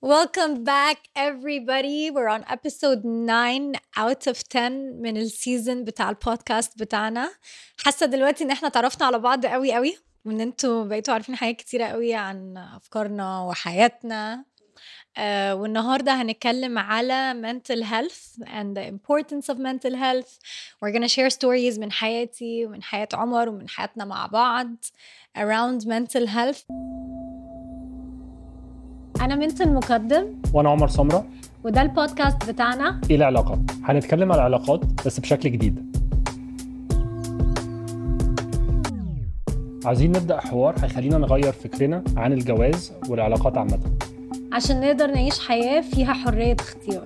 Welcome back everybody. We're on episode 9 out of 10 من السيزن بتاع البودكاست بتاعنا. حاسة دلوقتي ان احنا تعرفنا على بعض قوي وان انتوا بقيتوا عارفين حاجات كتيرة قوي عن افكارنا وحياتنا. والنهاردة هنتكلم على mental health and the importance of mental health. We're gonna share stories من حياتي ومن حياة عمر ومن حياتنا مع بعض around mental health. أنا منت المقدم وانا عمر سمرة، وده البودكاست بتاعنا. ايه العلاقات؟ هنتكلم على العلاقات بس بشكل جديد. عايزين نبدأ حوار هيخلينا نغير فكرنا عن الجواز والعلاقات عامة، عشان نقدر نعيش حياة فيها حرية اختيار.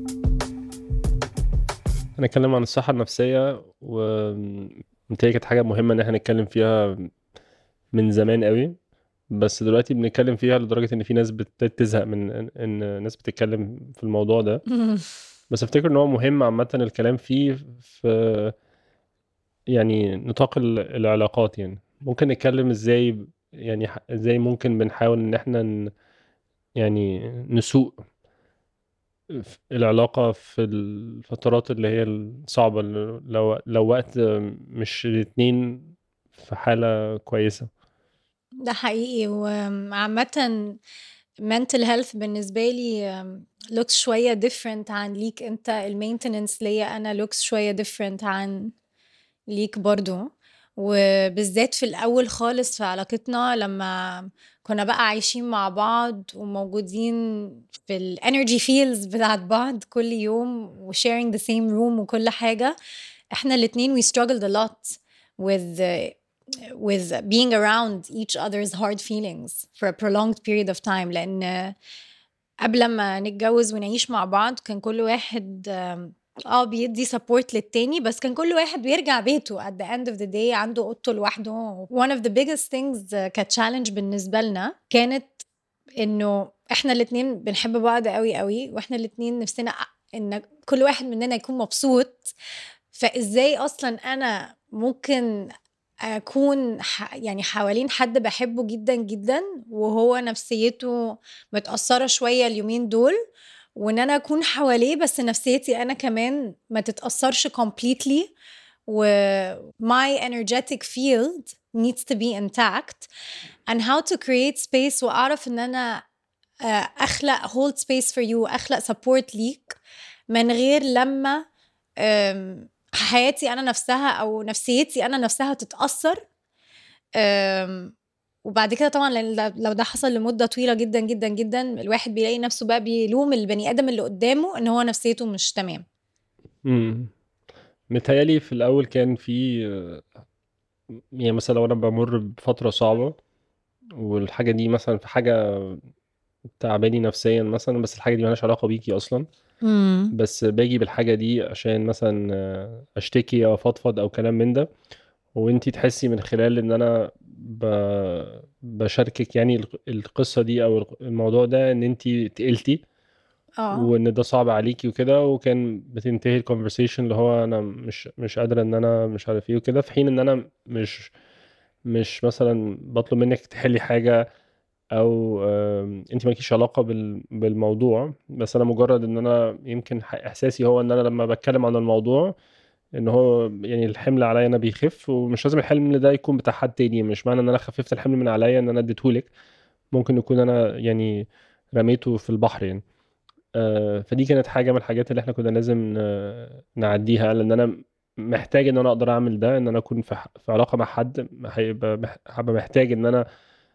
هنتكلم عن الصحة النفسية، ومتهيألي كانت حاجة مهمة ان احنا نتكلم فيها من زمان قوي، بس دلوقتي بنتكلم فيها لدرجة ان في ناس بتزهق من ان الناس بتتكلم في الموضوع ده. بس افتكر ان هو مهم عامة الكلام فيه في يعني نطاق العلاقات. يعني ممكن نتكلم ازاي، يعني ازاي ممكن بنحاول ان احنا يعني نسوق العلاقة في الفترات اللي هي الصعبة، لو وقت مش الاتنين في حالة كويسة. ده حقيقي. وعامة mental health بالنسبة لي looks شوية different عن ليك انت. المينتيننس ليا انا looks شوية different عن ليك برضو. وبالذات في الأول خالص في علاقتنا لما كنا بقى عايشين مع بعض وموجودين في الانرجي فيلز بتاعت بعض كل يوم و sharing the same room وكل حاجة. احنا الاتنين we struggled a lot with being around each other's hard feelings for a prolonged period of time. لأن قبل ما نتجوز ونعيش مع بعض كان كل واحد بيدي support للتاني، بس كان كل واحد بيرجع بيته at the end of the day عنده اوضته لوحده. One of the biggest things كانت challenge بالنسبة لنا كانت انه احنا الاتنين بنحب بعض قوي واحنا الاتنين نفسنا ان كل واحد مننا يكون مبسوط. فازاي اصلا انا ممكن اكون يعني حوالين حد بحبه جدا وهو نفسيته متأثرة شوية اليومين دول، وان انا اكون حواليه بس نفسيتي انا كمان ما تتأثرش completely و my energetic field needs to be intact, and how to create space واعرف ان انا اخلق hold space for you، اخلق support ليك من غير لما حياتي انا نفسها او نفسيتي انا نفسها تتأثر. وبعد كده طبعا لو ده حصل لمدة طويلة جدا الواحد بيلاقي نفسه بقى بيلوم البني آدم اللي قدامه ان هو نفسيته مش تمام. متهيألي في الأول كان في يعني مثلا لو أنا بمر بفترة صعبة والحاجة دي مثلا في حاجة تعباني نفسيا مثلا، بس الحاجة دي مالهاش علاقة بيكي أصلا، بس باجي بالحاجة دي عشان مثلا أشتكي أو أفضفض أو كلام من ده، وانتي تحسي من خلال ان انا بشاركك يعني القصة دي او الموضوع ده ان انتي تقلتي وان ده صعب عليكي وكده، وكان بتنتهي الكونفرسيشن اللي هو انا مش قادرة ان انا مش عارف ايه وكده، في حين ان انا مش مثلا بطلب منك تحلي حاجة او انتي مالكيش علاقة بالموضوع، بس انا مجرد ان انا يمكن احساسي هو ان انا لما بتكلم عن الموضوع ان هو يعني الحمل عليا انا بيخف، ومش لازم الحمل ده يكون بتاع حد تاني، مش معنى ان انا خففت الحمل من عليا ان انا اديتهولك، ممكن يكون انا يعني رميته في البحر يعني. فدي كانت حاجة من الحاجات اللي احنا كنا لازم نعديها، لان انا محتاج ان انا اقدر اعمل ده، ان انا اكون في علاقة مع حد هبقى محتاج ان انا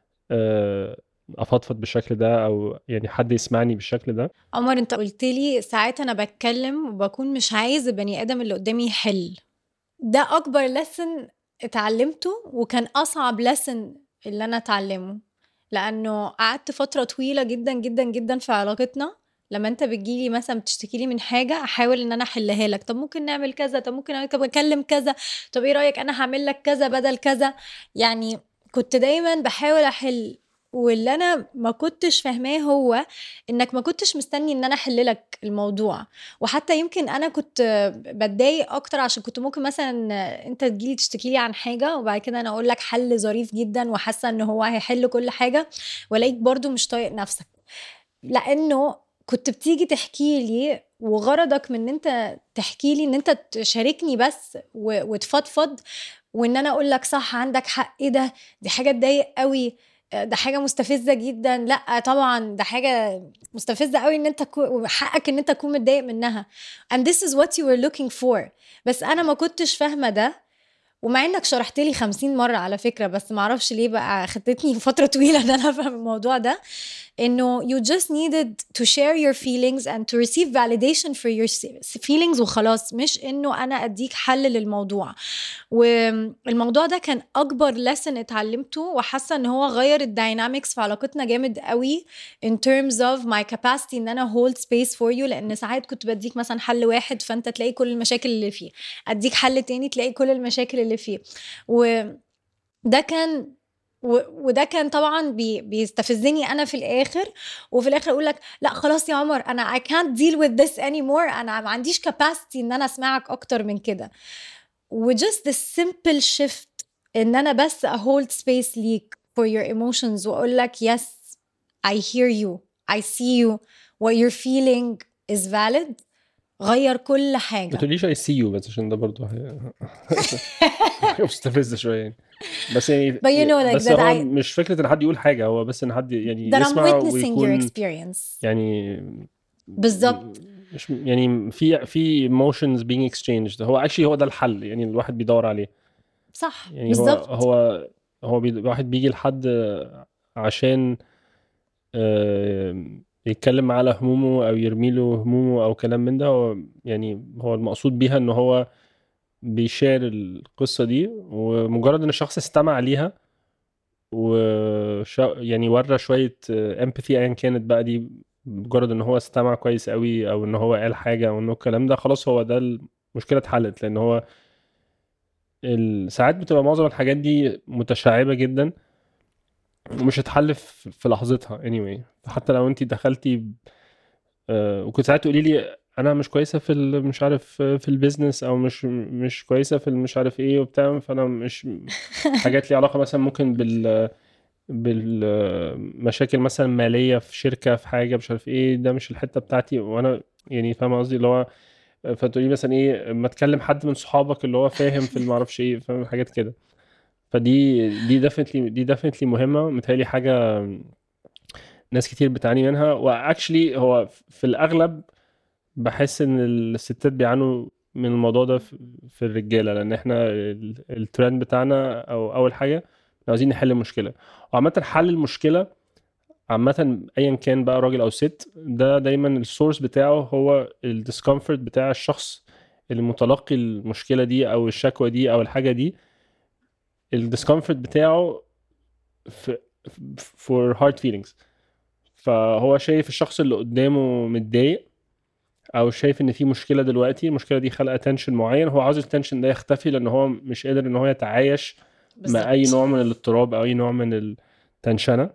افضفض بالشكل ده، او يعني حد يسمعني بالشكل ده. عمر انت قلت لي ساعات انا بتكلم وبكون مش عايز البني ادم اللي قدامي يحل. ده اكبر لسن اتعلمته وكان اصعب لسن اللي انا اتعلمه، لانه قعدت فتره طويله جدا في علاقتنا لما انت بتجيلي مثلا بتشتكي لي من حاجه احاول ان انا احلها لك. طب ممكن نعمل كذا، طب ممكن طب اكلم كذا، طب ايه رايك انا هعمل لك كذا بدل كذا. يعني كنت دايما بحاول احل. واللي انا ما كنتش فاهماه هو انك ما كنتش مستني ان انا احل لك الموضوع. وحتى يمكن انا كنت بتضايق اكتر عشان كنت ممكن مثلا انت تجيلي تشتكي لي عن حاجه وبعد كده انا اقول لك حل ظريف جدا وحاسه ان هو هيحل كل حاجه، والاقيك برضو مش طايق نفسك. لانه كنت بتيجي تحكي لي وغرضك من ان انت تحكي لي ان انت تشاركني بس وتفضفض، وان انا اقول لك صح عندك حق، ايه ده، دي حاجه تضايق قوي، ده حاجه مستفزه جدا، لا طبعا ده حاجه مستفزه قوي ان انت حقك ان انت تكون متضايق منها and this is what you were looking for. بس انا ما كنتش فاهمه ده، ومع انك شرحت لي 50 مرة على فكرة، بس معرفش ليه بقى خدتني فترة طويلة ان انا افهم الموضوع ده، انه you just needed to share your feelings and to receive validation for your feelings وخلاص، مش انه انا اديك حل للموضوع. والموضوع ده كان اكبر lesson اتعلمته، وحاسة ان هو غير الداينامكس في علاقتنا جامد قوي in terms of my capacity ان انا hold space for you. لان ساعات كنت بديك مثلا حل واحد فانت تلاقي كل المشاكل اللي فيه، اديك حل تاني تلاقي كل المشاكل اللي فيه، وده كان طبعا بيستفزني انا في الاخر، وفي الاخر اقول لك لا خلاص يا عمر انا I can't deal with this anymore، انا ما عنديش capacity ان انا اسمعك اكتر من كده. وجست the simple shift ان انا بس hold space ليك for your emotions واقول لك yes I hear you I see you what you're feeling is valid، غير كل حاجة. ما تقوليش I see you بس عشان ده برضو مستفزة شوية يعني. بس يعني But you know, like بس هو مش فكرة ان حد يقول حاجة، هو بس ان حد يعني يسمع ويكون يعني بالظبط، مش يعني في emotions being exchanged. هو actually هو ده الحل يعني الواحد بيدور عليه، صح يعني بالظبط. هو الواحد بيجي لحد عشان يتكلم معاه على همومه او يرمي له همومه او كلام من ده. هو يعني هو المقصود بيها ان هو بيشار القصة دي، ومجرد ان الشخص استمع ليها يعني ورى شوية empathy ايا كانت بقى دي، مجرد ان هو استمع كويس قوي او ان هو قال حاجة او انه الكلام ده خلاص هو ده المشكلة اتحلت. لان هو ساعات بتبقى معظم الحاجات دي متشعبة جدا ومش هتحل في لحظتها anyway. حتى لو انت دخلتي وكنت ساعات تقولي لي انا مش كويسه في مش عارف في البيزنس او مش كويسه في مش عارف ايه وبتاع، فانا مش حاجات لي علاقه مثلا ممكن بالمشاكل مثلا ماليه في شركه في حاجه مش عارف ايه، ده مش الحته بتاعتي. وانا يعني فاهم قصدي اللي هو فتقولي مثلا ايه ما تكلم حد من صحابك اللي هو فاهم في ما اعرفش ايه، فاهم حاجات كده. فدي ديفنتلي مهمه، متهيألي حاجه ناس كتير بتعاني منها. واكشلي هو في الاغلب بحس ان الستات بيعانوا من الموضوع ده في الرجاله، لان احنا الترند بتاعنا او اول حاجه عاوزين نحل المشكله. وعامه حل المشكله عامه ايا كان بقى راجل او ست، ده دايما السورس بتاعه هو الديسكomfort بتاع الشخص اللي متلقي المشكله دي او الشكوى دي او الحاجه دي. الديسكomfort بتاعه for hard feelings. فهو شايف الشخص اللي قدامه متضايق او شايف ان في مشكله دلوقتي، المشكله دي خلقه تنشن معين، هو عاوز التنشن ده يختفي لان هو مش قادر ان هو يتعايش بالزبط. مع اي نوع من الاضطراب او اي نوع من التنشنه.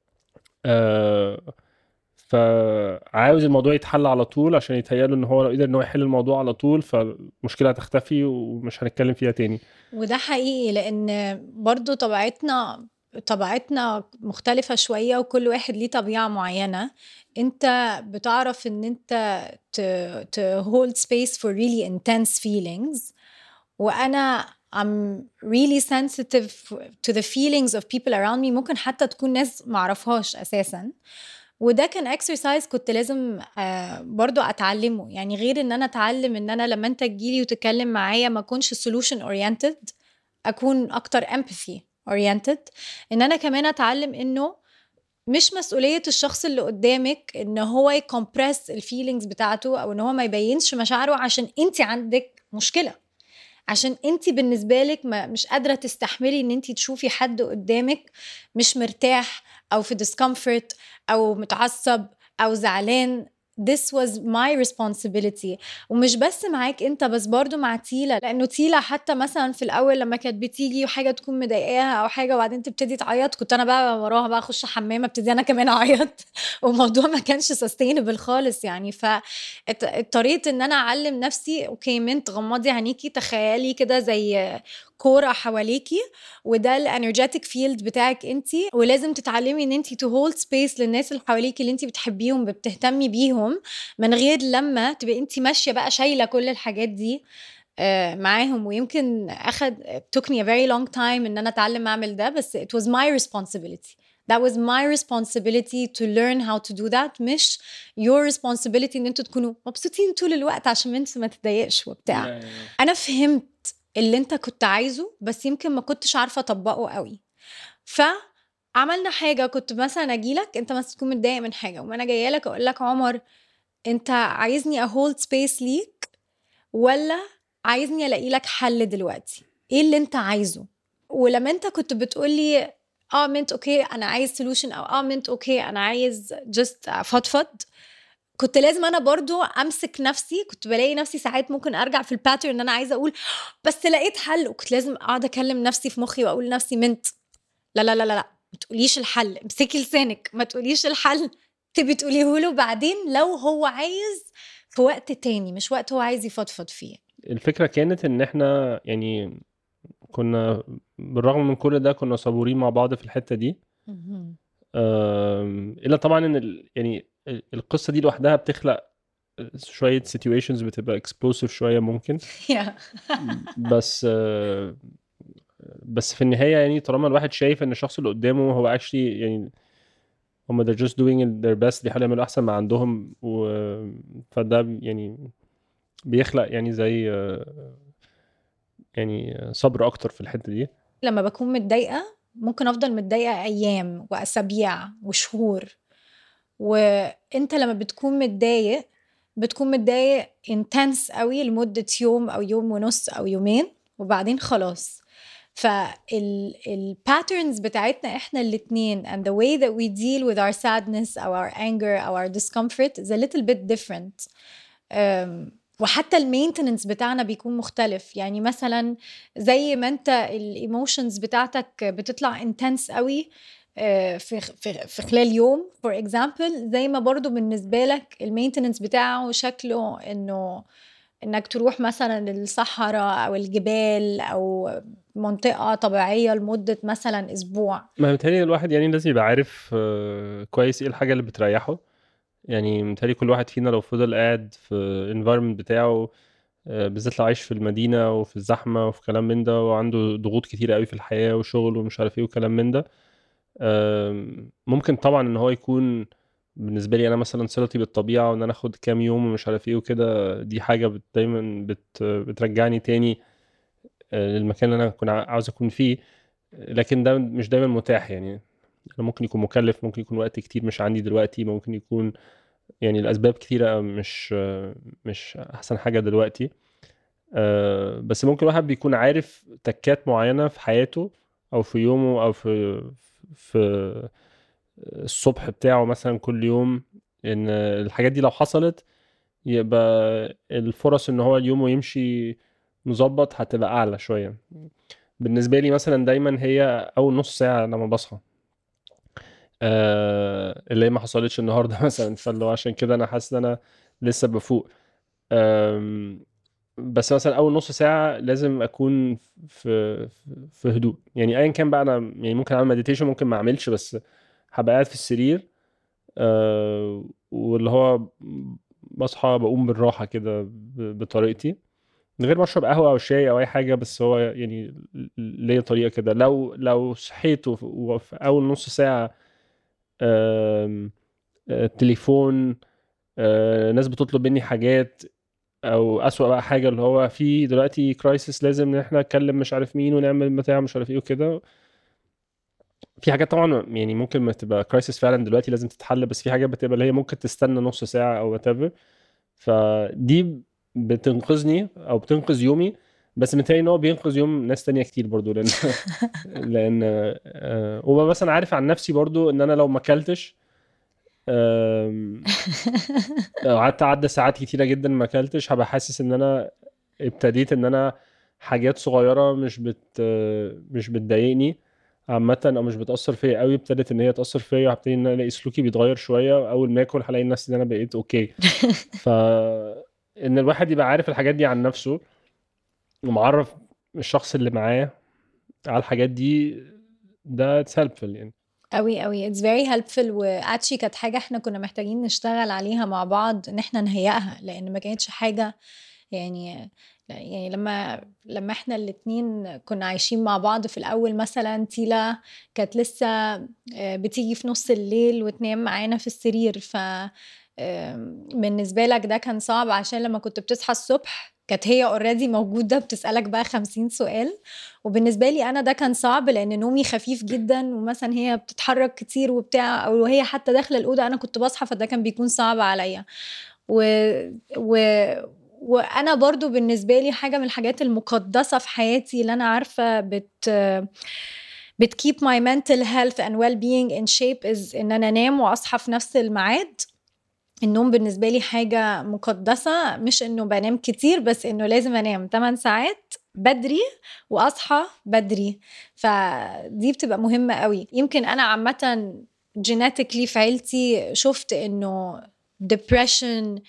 فعاوز الموضوع يتحل على طول عشان يتهيأله ان هو لو قدر ان هو يحل الموضوع على طول فالمشكله هتختفي ومش هنتكلم فيها تاني. وده حقيقي، لان برضو طبيعتنا مختلفة شوية، وكل واحد ليه طبيعة معينة. انت بتعرف ان انت to hold space for really intense feelings، وانا I'm really sensitive to the feelings of people around me، ممكن حتى تكون ناس معرفهاش اساسا. وده كان exercise كنت لازم برضو اتعلمه، يعني غير ان انا اتعلم ان انا لما انت تجيلي وتتكلم معايا ما اكونش solution oriented، اكون اكتر empathy oriented. ان انا كمان اتعلم انه مش مسؤولية الشخص اللي قدامك ان هو يكمبرس الفيلينجز بتاعته، او ان هو ما يبينش مشاعره عشان انت عندك مشكلة، عشان انت بالنسبة لك مش قادرة تستحملي ان انت تشوفي حد قدامك مش مرتاح او في discomfort او متعصب او زعلان. This was my responsibility. ومش بس معاك انت، بس برضو مع تيلا، لانه تيلا حتى مثلا في الاول لما كانت بتيجي وحاجة تكون مضايقاها او حاجة وبعدين تبتدي تعيط، كنت انا بقى وراها بقى اخش حمام ابتدي انا كمان اعيط والموضوع ما كانش sustainable خالص يعني. فاضطريت ان انا اعلم نفسي اوكي منت غمضي عينيكي، تخيلي كده زي كورة حواليكي وده الانرجيتك فيلد بتاعك انتي، ولازم تتعلمي ان انتي to hold space للناس اللي حواليكي اللي انتي بتحبيهم بتهتمي بيهم، من غير لما تبقى انتي ماشية بقى شايلة كل الحاجات دي معاهم. ويمكن took me a very long time ان انا اتعلم اعمل ده، بس it was my responsibility. That was my responsibility to learn how to do that. مش your responsibility ان انتوا تكونوا مبسوطين طول الوقت عشان انتوا ما تضايقش وبتاع. انا فهمت اللي انت كنت عايزه، بس يمكن ما كنتش عارفة اطبقه قوي. فعملنا حاجة، كنت مثلا اجيلك انت مثلا تكون متضايق من حاجة، وما انا جايه لك اقول لك عمر انت عايزني اhold space ليك ولا عايزني الاقي لك حل دلوقتي؟ ايه اللي انت عايزه؟ ولما انت كنت بتقولي منت اوكي انا عايز solution، او منت اوكي انا عايز just فضفض، كنت لازم انا برضو امسك نفسي. كنت بلاقي نفسي ساعات ممكن ارجع في الباترن ان انا عايزه اقول بس لقيت حل، وكنت لازم اقعد اكلم نفسي في مخي واقول لنفسي منت لا لا لا لا ما تقوليش الحل، امسكي لسانك، ما تقوليش الحل، تبي تقوليه له بعدين لو هو عايز في وقت تاني، مش وقت هو عايز يفضفض فيه. الفكرة كانت ان احنا يعني كنا بالرغم من كل ده كنا صبورين مع بعض في الحتة دي. الا طبعا ان يعني القصة دي لوحدها بتخلق شوية situations بتبقى explosive شوية ممكن. بس في النهاية يعني طالما الواحد شايف ان الشخص اللي قدامه هو actually يعني هم they're just doing their best، بيحاولوا يعملوا احسن ما عندهم، فده يعني بيخلق يعني زي يعني صبر اكتر في الحتة دي. لما بكون متضايقة ممكن افضل متضايقة ايام واسابيع وشهور، وانت لما بتكون متضايق بتكون متضايق intense قوي لمدة يوم او يوم ونص او يومين وبعدين خلاص. patterns بتاعتنا احنا الاتنين and the way that we deal with our sadness or our anger or our discomfort is a little bit different. وحتى المينتننس بتاعنا بيكون مختلف. يعني مثلا زي ما انت الايموشنز بتاعتك بتطلع intense قوي في خلال يوم for example، زي ما برضو بالنسبة لك المينتننس بتاعه شكله انك تروح مثلا الصحراء او الجبال او منطقة طبيعية لمدة مثلا اسبوع. ما متهيألي الواحد يعني لازم يبقى عارف كويس ايه الحاجة اللي بتريحه. يعني متهيألي كل واحد فينا لو فضل قاعد في environment بتاعه بالذات لو عايش في المدينة وفي الزحمة وفي كلام من ده وعنده ضغوط كتيرة قوي في الحياة وشغل ومش عارف ايه وكلام من ده، ممكن طبعا ان هو يكون بالنسبة لي انا مثلا صلتي بالطبيعة وان انا اخد كام يوم ومش عارف ايه وكده، دي حاجة دايما بترجعني تاني للمكان اللي انا كنت عاوز اكون فيه. لكن ده مش دايما متاح. يعني انا ممكن يكون مكلف، ممكن يكون وقت كتير مش عندي دلوقتي، ممكن يكون يعني الاسباب كتيرة مش احسن حاجة دلوقتي. بس ممكن الواحد بيكون عارف تكات معينة في حياته او في يومه او في الصبح بتاعه مثلا كل يوم، ان الحاجات دي لو حصلت يبقى الفرص ان هو اليوم يمشي مظبط هتبقى اعلى شوية. بالنسبة لي مثلا دايما هي اول نص ساعة لما بصحى اللي هي ما حصلتش النهاردة مثلا، فاللي هو عشان كده انا حاسس ان انا لسه بفوق. بس مثلا اول نص ساعة لازم اكون في هدوء. يعني ايا كان بقى، انا يعني ممكن اعمل مديتيشن ممكن ما اعملش، بس هبقى قاعد في السرير واللي هو بصحى بقوم بالراحة كده بطريقتي من غير ما اشرب قهوة او شاي او اي حاجة. بس هو يعني ليا طريقة كده. لو صحيت وفي اول نص ساعة تليفون، ناس بتطلب مني حاجات، او اسوأ بقى حاجة اللي هو في دلوقتي كرايسيس لازم ان احنا نتكلم مش عارف مين ونعمل بتاع مش عارف ايه وكده. في حاجات طبعا يعني ممكن ما تبقى كرايسيس فعلا دلوقتي لازم تتحل، بس في حاجات بتبقى اللي هي ممكن تستنى نص ساعة او whatever. فدي بتنقذني او بتنقذ يومي. بس متهيألي ان هو بينقذ يوم ناس تانية كتير برضو، لان وبقى مثلا عارف عن نفسي برضو ان انا لو ما اكلتش قعدت عدى ساعات كتيرة جدا ما اكلتش، هبقى حاسس ان انا ابتديت ان انا حاجات صغيرة مش بتضايقني عامة او مش بتأثر فيا قوي ابتدت ان هي تأثر فيا، وهبتدي ان انا الاقي سلوكي بيتغير شوية. اول ما اكل هلاقي نفسي ان انا بقيت اوكي. ان الواحد يبقى عارف الحاجات دي عن نفسه ومعرف الشخص اللي معاه على الحاجات دي ده it's helpful يعني. قوي it's very helpful. واتشي كانت حاجة احنا كنا محتاجين نشتغل عليها مع بعض ان احنا نهيئها، لان ما كانتش حاجة يعني لما احنا الاتنين كنا عايشين مع بعض في الاول، مثلا تيلا كانت لسه بتيجي في نص الليل وتنام معانا في السرير، ف بالنسبة لك ده كان صعب عشان لما كنت بتصحى الصبح كانت هي already موجودة بتسألك بقى 50 سؤال. وبالنسبة لي أنا ده كان صعب لأن نومي خفيف جدا، ومثلا هي بتتحرك كتير وبتاع، أو هي حتى داخلة الأوضة أنا كنت بصحى، فده كان بيكون صعب عليا. و... وأنا برضو بالنسبة لي حاجة من الحاجات المقدسة في حياتي اللي أنا عارفة keep my mental health and well-being in shape is إن أنا أنام وأصحى في نفس الميعاد. النوم بالنسبة لي حاجة مقدسة، مش إنه بنام كتير، بس إنه لازم أنام 8 ساعات بدري وأصحى بدري، فدي بتبقى مهمة قوي. يمكن أنا عامة genetically في عيلتي شفت إنه depression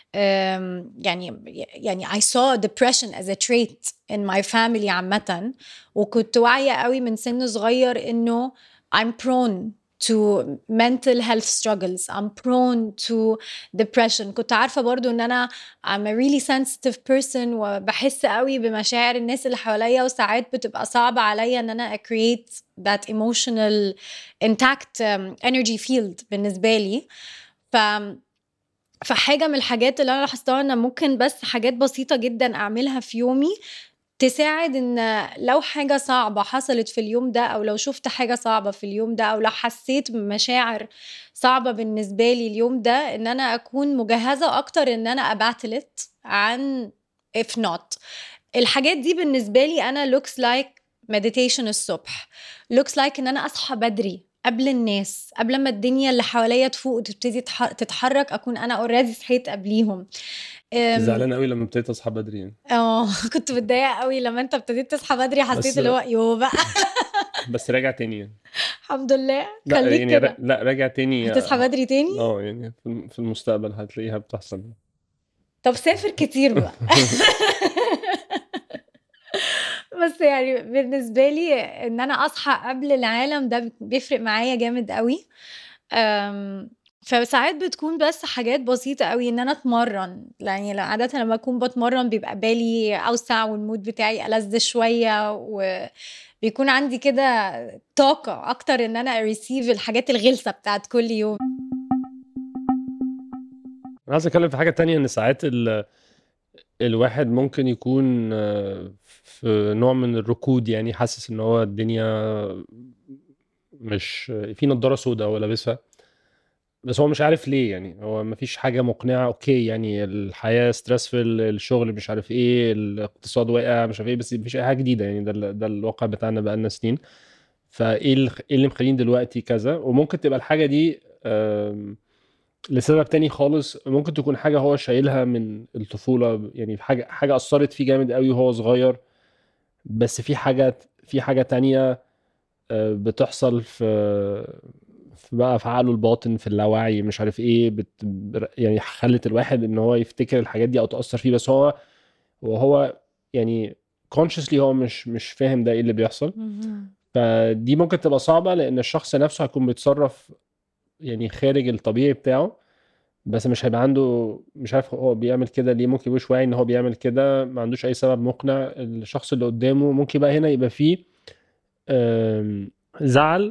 يعني I saw depression as a trait in my family عامة، وكنت واعية قوي من سن صغير إنه I'm prone to mental health struggles, I'm prone to depression. كنت عارفة برضو ان انا I'm a really sensitive person وبحس قوي بمشاعر الناس اللي حواليا، وساعات بتبقى صعبة عليا ان انا create that emotional intact energy field بالنسبة لي. فحاجة من الحاجات اللي انا لاحظتها ان ممكن بس حاجات بسيطة جدا اعملها في يومي تساعد ان لو حاجة صعبة حصلت في اليوم ده، او لو شفت حاجة صعبة في اليوم ده، او لو حسيت بمشاعر صعبة بالنسبة لي اليوم ده، ان انا اكون مجهزة اكتر ان انا اباتلت عن if not. الحاجات دي بالنسبة لي انا looks like meditation الصبح، looks like ان انا اصحى بدري قبل الناس، قبل ما الدنيا اللي حواليا تفوق وتبتدي تتحرك، اكون انا اوريدي صحيت قبليهم. زعلان قوي لما ابتديت اصحى بدري يعني. كنت متضايقه قوي لما انت ابتديت تصحى بدري، حسيت بس اللي هو يو بقى بس راجع تاني يعني. الحمد لله. لا خليك يعني كده لا راجع تاني. هتصحى بدري تاني. يعني في المستقبل هتلاقيها بتحصل. طب سافر كتير بقى بس يعني بالنسبه لي ان انا اصحى قبل العالم ده بيفرق معايا جامد قوي. فساعات بتكون بس حاجات بسيطة قوي ان انا اتمرن، يعني عادة لما اكون بتمرن بيبقى بالي اوسع والمود بتاعي ألذ شوية، وبيكون عندي كده طاقة اكتر ان انا اريسيف الحاجات الغلسة بتاعت كل يوم. انا عايز اتكلم في حاجة تانية، ان ساعات الواحد ممكن يكون في نوع من الركود، يعني حاسس ان هو الدنيا مش في نضارة سوداء هو لابسها، بس هو مش عارف ليه. يعني هو مفيش حاجة مقنعة. اوكي يعني الحياة ستريسفل، الشغل مش عارف ايه، الاقتصاد واقع مش عارف ايه، بس مفيش اي حاجة جديدة. يعني ده الواقع بتاعنا بقالنا سنين. فايه إيه اللي مخلين دلوقتي كذا؟ وممكن تبقى الحاجة دي لسبب تاني خالص. ممكن تكون حاجة هو شايلها من الطفولة، يعني حاجة أثرت فيه جامد قوي وهو صغير، بس في حاجة تانية بتحصل في بقى في عقله الباطن، في اللاوعي مش عارف ايه، يعني خلت الواحد ان هو يفتكر الحاجات دي او تأثر فيه، بس وهو يعني consciously هو مش فاهم ده ايه اللي بيحصل. فدي ممكن تبقى صعبة، لان الشخص نفسه هيكون بيتصرف يعني خارج الطبيعي بتاعه، بس مش هيبقى عنده، مش عارف هو بيعمل كده ليه. ممكن يبقاش واعي ان هو بيعمل كده، ما عندوش اي سبب مقنع. الشخص اللي قدامه ممكن بقى هنا يبقى فيه زعل،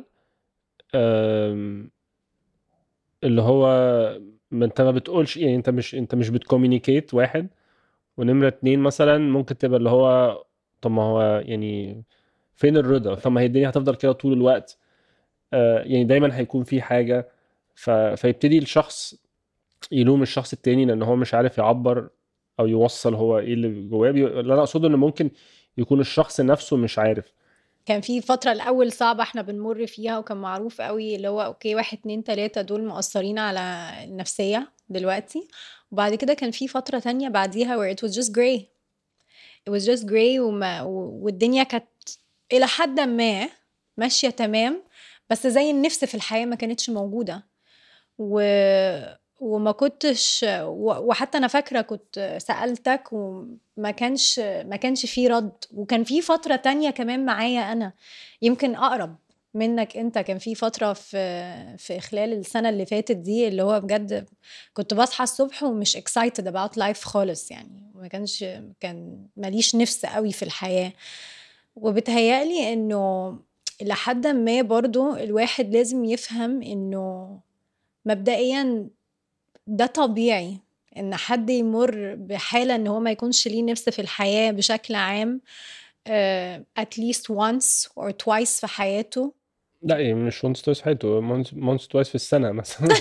اللي هو ما انت ما بتقولش، يعني انت مش بتكومينيكيت واحد. ونمرة 2 مثلا ممكن تبقى اللي هو طب ما هو يعني فين الرضا؟ طب ما هي الدنيا هتفضل كده طول الوقت. يعني دايما هيكون في حاجة. فيبتدي الشخص يلوم الشخص التاني لان هو مش عارف يعبر او يوصل هو ايه اللي جواه. اللي انا اقصده ان ممكن يكون الشخص نفسه مش عارف. كان في فترة الأول صعبة احنا بنمر فيها، وكان معروف قوي اللي هو اوكي 1 2 3 دول مؤثرين على النفسية دلوقتي. وبعد كده كان في فترة تانية بعديها where it was just gray. It was just gray والدنيا كانت إلى حد ما ماشية تمام، بس زي النفس في الحياة ما كانتش موجودة. وما كنتش وحتى انا فاكره كنت سالتك وما كانش فيه رد. وكان في فتره تانية كمان معايا انا يمكن اقرب منك انت. كان في فتره في خلال السنه اللي فاتت دي اللي هو بجد كنت بصحى الصبح ومش excited about life خالص يعني. كان ماليش نفس قوي في الحياه. وبتهيألي انه لحد ما برضو الواحد لازم يفهم انه مبدئيا ده طبيعي ان حد يمر بحالة ان هو ما يكونش ليه نفس في الحياة بشكل عام at least once or twice في حياته. لا يعني مش once twice في حياته، once twice في السنة مثلا.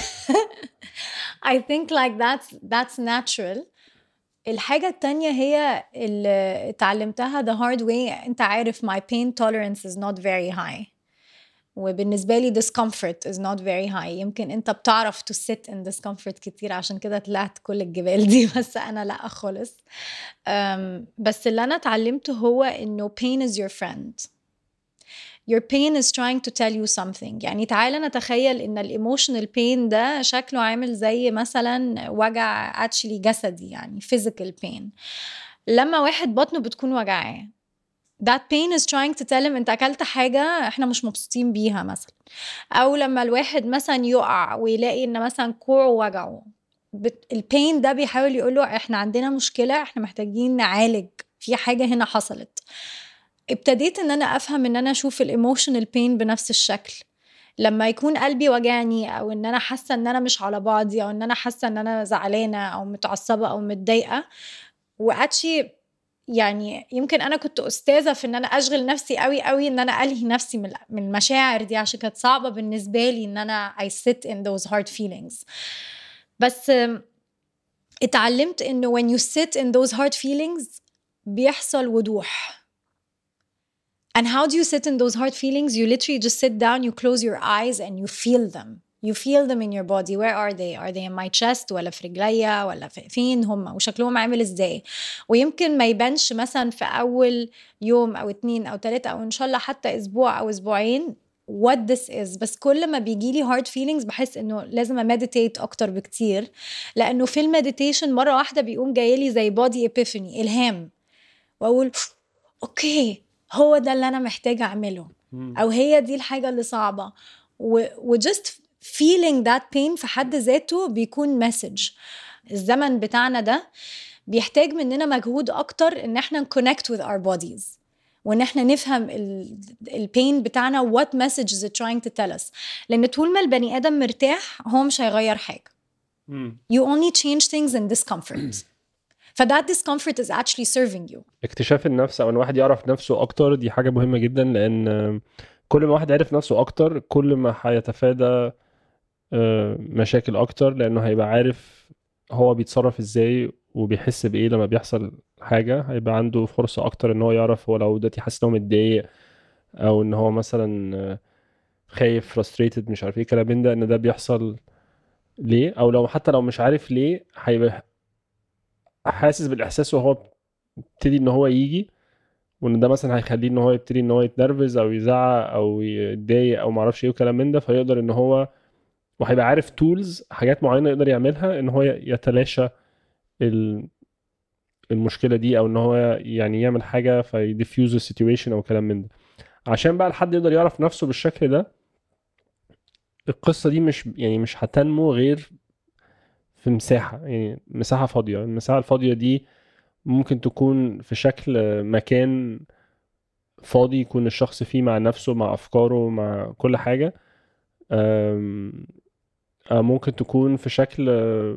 I think like that's natural. الحاجة التانية هي اللي اتعلمتها the hard way. انت عارف my pain tolerance is not very high. وبالنسبة لي discomfort is not very high. يمكن انت بتعرف to sit in discomfort كتير عشان كده طلعت كل الجبال دي، بس انا لا خالص. بس اللي انا اتعلمته هو انه pain is your friend. Your pain is trying to tell you something. يعني تعالى نتخيل ان الايموشنال pain ده شكله عامل زي مثلا وجع actually جسدي يعني physical pain. لما واحد بطنه بتكون وجعاه that pain is trying to tell him انت اكلت حاجة احنا مش مبسوطين بيها مثلا. او لما الواحد مثلا يقع ويلاقي ان مثلا كوعه وجعه البين ده بيحاول يقوله احنا عندنا مشكلة، احنا محتاجين نعالج في حاجة هنا حصلت. ابتديت ان انا افهم ان انا اشوف الايموشنال بين بنفس الشكل. لما يكون قلبي وجعني او ان انا حاسة ان انا مش على بعضي او ان انا حاسة ان انا زعلانة او متعصبة او متضايقة واتشي يعني يمكن انا كنت استاذه في ان انا اشغل نفسي قوي قوي ان انا الهي نفسي من المشاعر دي عشان كانت صعبه بالنسبه لي ان انا I sit in those hard feelings. بس اتعلمت انه when you sit in those hard feelings بيحصل وضوح. And how do you sit in those hard feelings? You literally just sit down, you close your eyes and you feel them. You feel them in your body. Where are they? Are they in my chest ولا في رجليا ولا فين هم وشكلهم عامل ازاي؟ ويمكن ما يبانش مثلا في أول يوم أو 2 أو 3 أو إن شاء الله حتى أسبوع أو أسبوعين what this is. بس كل ما بيجيلي hard feelings بحس إنه لازم أمديتيت أكتر بكتير. لأنه في المديتيشن مرة واحدة بيقوم جايلي زي body epiphany إلهام وأقول أوكي هو ده اللي أنا محتاجة أعمله أو هي دي الحاجة اللي صعبة just feeling that pain في حد ذاته بيكون message. الزمن بتاعنا ده بيحتاج مننا مجهود أكتر إن احنا connect with our bodies وإن احنا نفهم البين بتاعنا what message is it trying to tell us. لأن طول ما البني آدم مرتاح هو مش هيغير حاجة. You only change things in discomfort. فده discomfort is actually serving you. اكتشاف النفس او ان واحد يعرف نفسه اكتر دي حاجة مهمة جدا، لان كل ما واحد عرف نفسه اكتر كل ما هيتفادى مشاكل اكتر، لانه هيبقى عارف هو بيتصرف ازاي وبيحس بايه لما بيحصل حاجة. هيبقى عنده فرصة اكتر ان هو يعرف هو لو دلوقتي حاسس ان هو متضايق او ان هو مثلا خايف frustrated مش عارف ايه كلام من ده، ان ده بيحصل ليه، او لو حتى لو مش عارف ليه هيبقى حاسس بالاحساس وهو ابتدي ان هو يجي، وان ده مثلا هيخليه ان هو يبتدي ان هو يتنرفز او يزعق او يتضايق او معرفش ايه وكلام من ده، فيقدر ان هو وهيبقى عارف تولز حاجات معينه يقدر يعملها ان هو يتلاشى المشكله دي، او ان هو يعني يعمل حاجه فيديفيوز السيتويشن او كلام من ده. عشان بقى الحد يقدر يعرف نفسه بالشكل ده، القصه دي مش هتنمو غير في مساحه، يعني مساحه فاضيه. المساحه الفاضيه دي ممكن تكون في شكل مكان فاضي يكون الشخص فيه مع نفسه مع أفكاره مع كل حاجة، ممكن تكون في شكل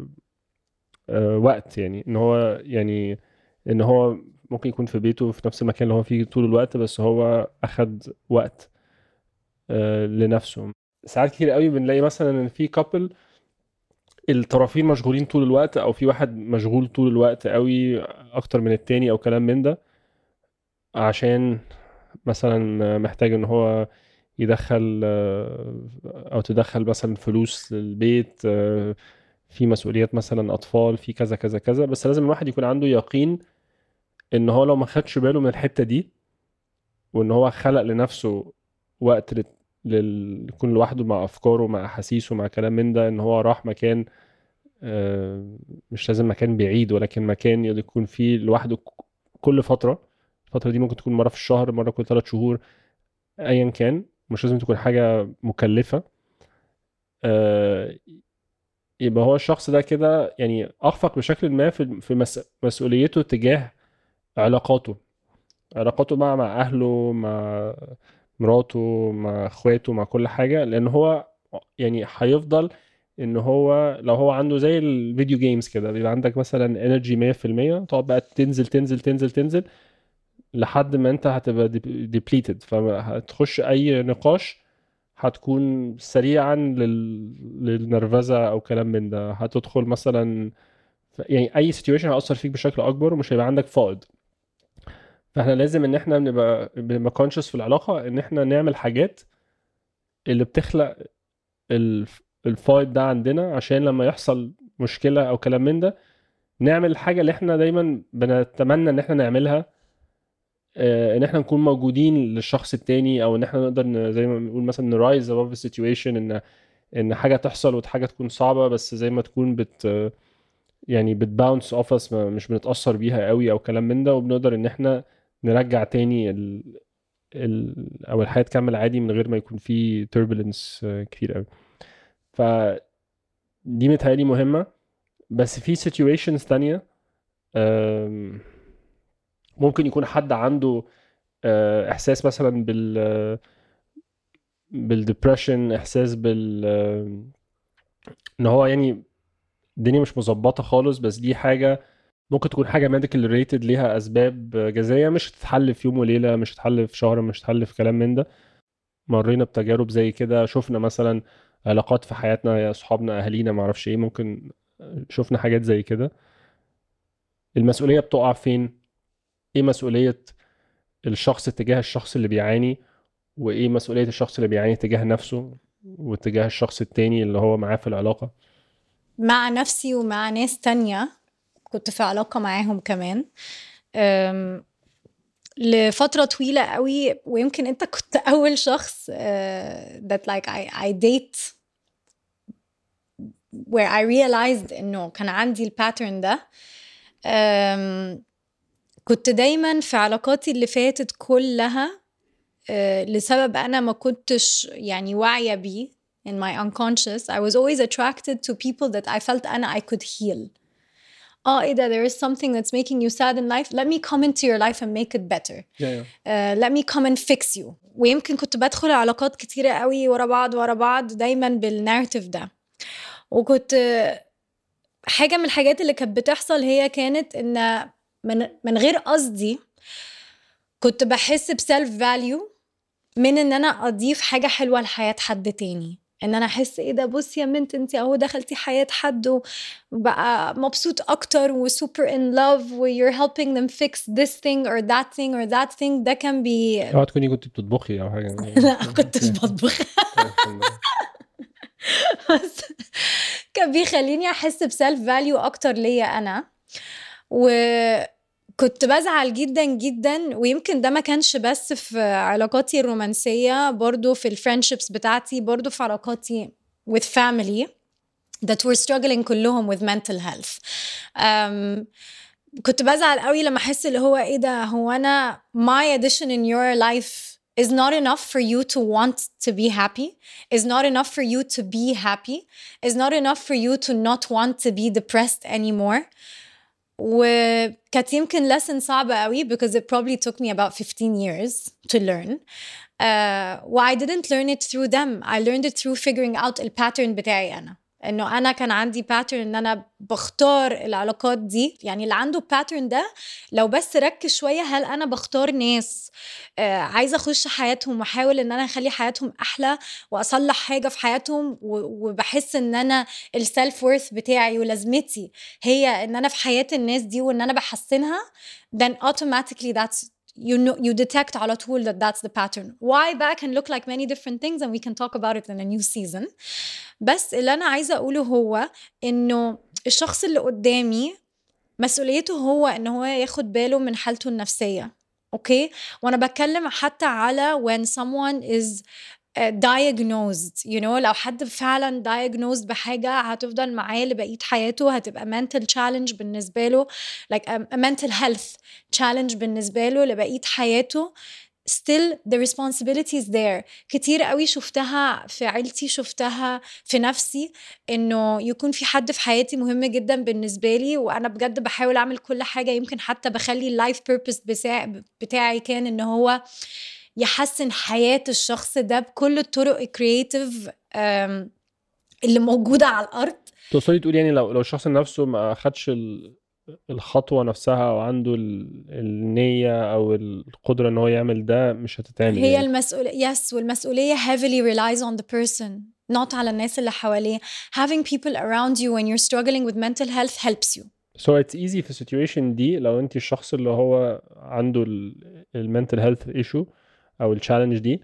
وقت، يعني إن هو ممكن يكون في بيته في نفس المكان اللي هو فيه طول الوقت، بس هو أخد وقت لنفسه. ساعات كتير قوي بنلاقي مثلا إن في كابل الطرفين مشغولين طول الوقت، أو في واحد مشغول طول الوقت قوي أكتر من التاني أو كلام من ده، عشان مثلا محتاج ان هو يدخل او تدخل مثلا فلوس للبيت، في مسؤوليات مثلا اطفال، في كذا كذا كذا. بس لازم الواحد يكون عنده يقين ان هو لو ما خدش باله من الحتة دي، وان هو خلق لنفسه وقت يكون لوحده مع افكاره مع احاسيسه مع كلام من ده، ان هو راح مكان مش لازم مكان بعيد، ولكن مكان يكون فيه لوحده كل فترة. الفترة دي ممكن تكون مرة في الشهر، مرة كل 3 شهور، ايا كان. مش لازم تكون حاجة مكلفة. يبقى هو الشخص ده كده يعني اخفق بشكل ما في مسؤوليته تجاه علاقاته مع اهله، مع مراته، مع اخواته، مع كل حاجة. لان هو يعني هيفضل ان هو لو هو عنده زي الفيديو جيمز كده، بيبقى عندك مثلا انرجي 100%، تقعد بقى تنزل تنزل تنزل تنزل لحد ما انت هتبقى ديبليتد. فهتخش اي نقاش هتكون سريعا للنرفزة او كلام من ده. هتدخل مثلا يعني اي سيتويشن هيأثر فيك بشكل اكبر، ومش هيبقى عندك فائض. فاحنا لازم ان احنا بنبقى كونشس في العلاقة، ان احنا نعمل حاجات اللي بتخلق الفائض ده عندنا، عشان لما يحصل مشكلة او كلام من ده نعمل الحاجة اللي احنا دايما بنتمنى ان احنا نعملها. ان احنا نكون موجودين للشخص التاني، او ان احنا نقدر زي ما بنقول مثلا نرايز above the situation، ان حاجة تحصل وحاجة تكون صعبة، بس زي ما تكون يعني بتباونس اوف اس، مش بنتأثر بيها قوي او كلام من ده، وبنقدر ان احنا نرجع تاني او الحياة تكمل عادي من غير ما يكون في turbulence كتير قوي. فدي متهيألي مهمة. بس في situations تانية ممكن يكون حد عنده احساس مثلا بالدبريشن، احساس ان هو يعني الدنيا مش مظبطه خالص. بس دي حاجه ممكن تكون حاجه ميديكال ريتد، ليها اسباب جذريه، مش هتتحل في يوم وليله، مش هتتحل في شهر، مش هتتحل في كلام من ده. مرينا بتجارب زي كده، شفنا مثلا علاقات في حياتنا، يا اصحابنا، اهالينا، ما اعرفش ايه، ممكن شفنا حاجات زي كده. المسؤوليه بتقع فين؟ ايه مسؤوليه الشخص تجاه الشخص اللي بيعاني، وايه مسؤولية الشخص اللي بيعاني تجاه نفسه وتجاه الشخص التاني اللي هو معاه في العلاقة؟ مع نفسي ومع ناس تانية كنت في علاقة معاهم كمان لفترة طويلة قوي. ويمكن انت كنت اول شخص that like I date where I realized انه كان عندي الباترن ده. كنت دايما في علاقاتي اللي فاتت كلها لسبب انا ما كنتش يعني واعية بيه in my unconscious. I was always attracted to people that I felt I could heal. ايه ده, there is something that's making you sad in life, let me come into your life and make it better. Let me come and fix you. ويمكن كنت بدخل علاقات كتيرة قوي ورا بعض دايما بالنارتيف ده. وكنت حاجة من الحاجات اللي كانت بتحصل هي كانت ان من غير قصدي كنت بحس بسلف فاليو من ان انا اضيف حاجة حلوة لحياة حد تاني. ان انا احس ايه ده, بصي يا بنت انت اهو دخلتي حياة حد وبقى مبسوط اكتر وسوبر in love و you're helping them fix this thing or that thing or that thing. ده كان اوعى تكوني كنت بتطبخي او حاجة؟ لا كنتش بطبخ. بس كان بيخليني احس بسلف فاليو اكتر ليا انا. وكنت بزعل جدا جدا. ويمكن ده ما كانش بس في علاقاتي الرومانسية, برضو في الفريندشيبس بتاعتي, برضو في علاقاتي with family that were struggling كلهم with mental health. كنت بزعل قوي لما احس اللي هو ايه ده, هو انا my addition in your life is not enough for you to want to be happy, is not enough for you to be happy, is not enough for you to not want to be depressed anymore. وكانت يمكن lesson صعبة قوي because it probably took me about 15 years to learn. I didn't learn it through them, I learned it through figuring out the pattern بتاعي أنا. إنه أنا كان عندي pattern إن أنا بختار العلاقات دي. يعني اللي عنده pattern ده لو بس ركز شوية, هل أنا بختار ناس عايزة أخش حياتهم وأحاول إن أنا أخلي حياتهم أحلى وأصلح حاجة في حياتهم, وبحس إن أنا السلف وورث بتاعي ولازمتي هي إن أنا في حياة الناس دي وإن أنا بحسنها, then automatically that's you detect على طول that that's the pattern. Why that can look like many different things and we can talk about it in a new season. بس اللي أنا عايزة أقوله هو إنه الشخص اللي قدامي مسؤوليته هو إنه هو ياخد باله من حالته النفسية. أوكي, وأنا بتكلم حتى على when someone is diagnosed you know لو حد فعلا diagnosed بحاجة هتفضل معاه لبقية حياته هتبقى mental challenge بالنسبة له like a mental health challenge بالنسبة له لبقية حياته still the responsibility is there. كتير قوي شفتها في عيلتي شفتها في نفسي انه يكون في حد في حياتي مهم جدا بالنسبة لي وانا بجد بحاول اعمل كل حاجة يمكن حتى بخلي اللايف purpose بتاعي كان ان هو يحسن حياة الشخص ده بكل الطرق الكرياتيف اللي موجودة على الارض. تقصدي تقول يعني لو الشخص نفسه ما اخدش الخطوة نفسها او عنده النية او القدرة ان هو يعمل ده مش هتتعمل هي يعني. المسؤولية والمسؤولية heavily relies on the person not على الناس اللي حواليه. Having people around you when you're struggling with mental health helps you. So it's easy في situation دي لو انت الشخص اللي هو عنده mental health issue او challenge دي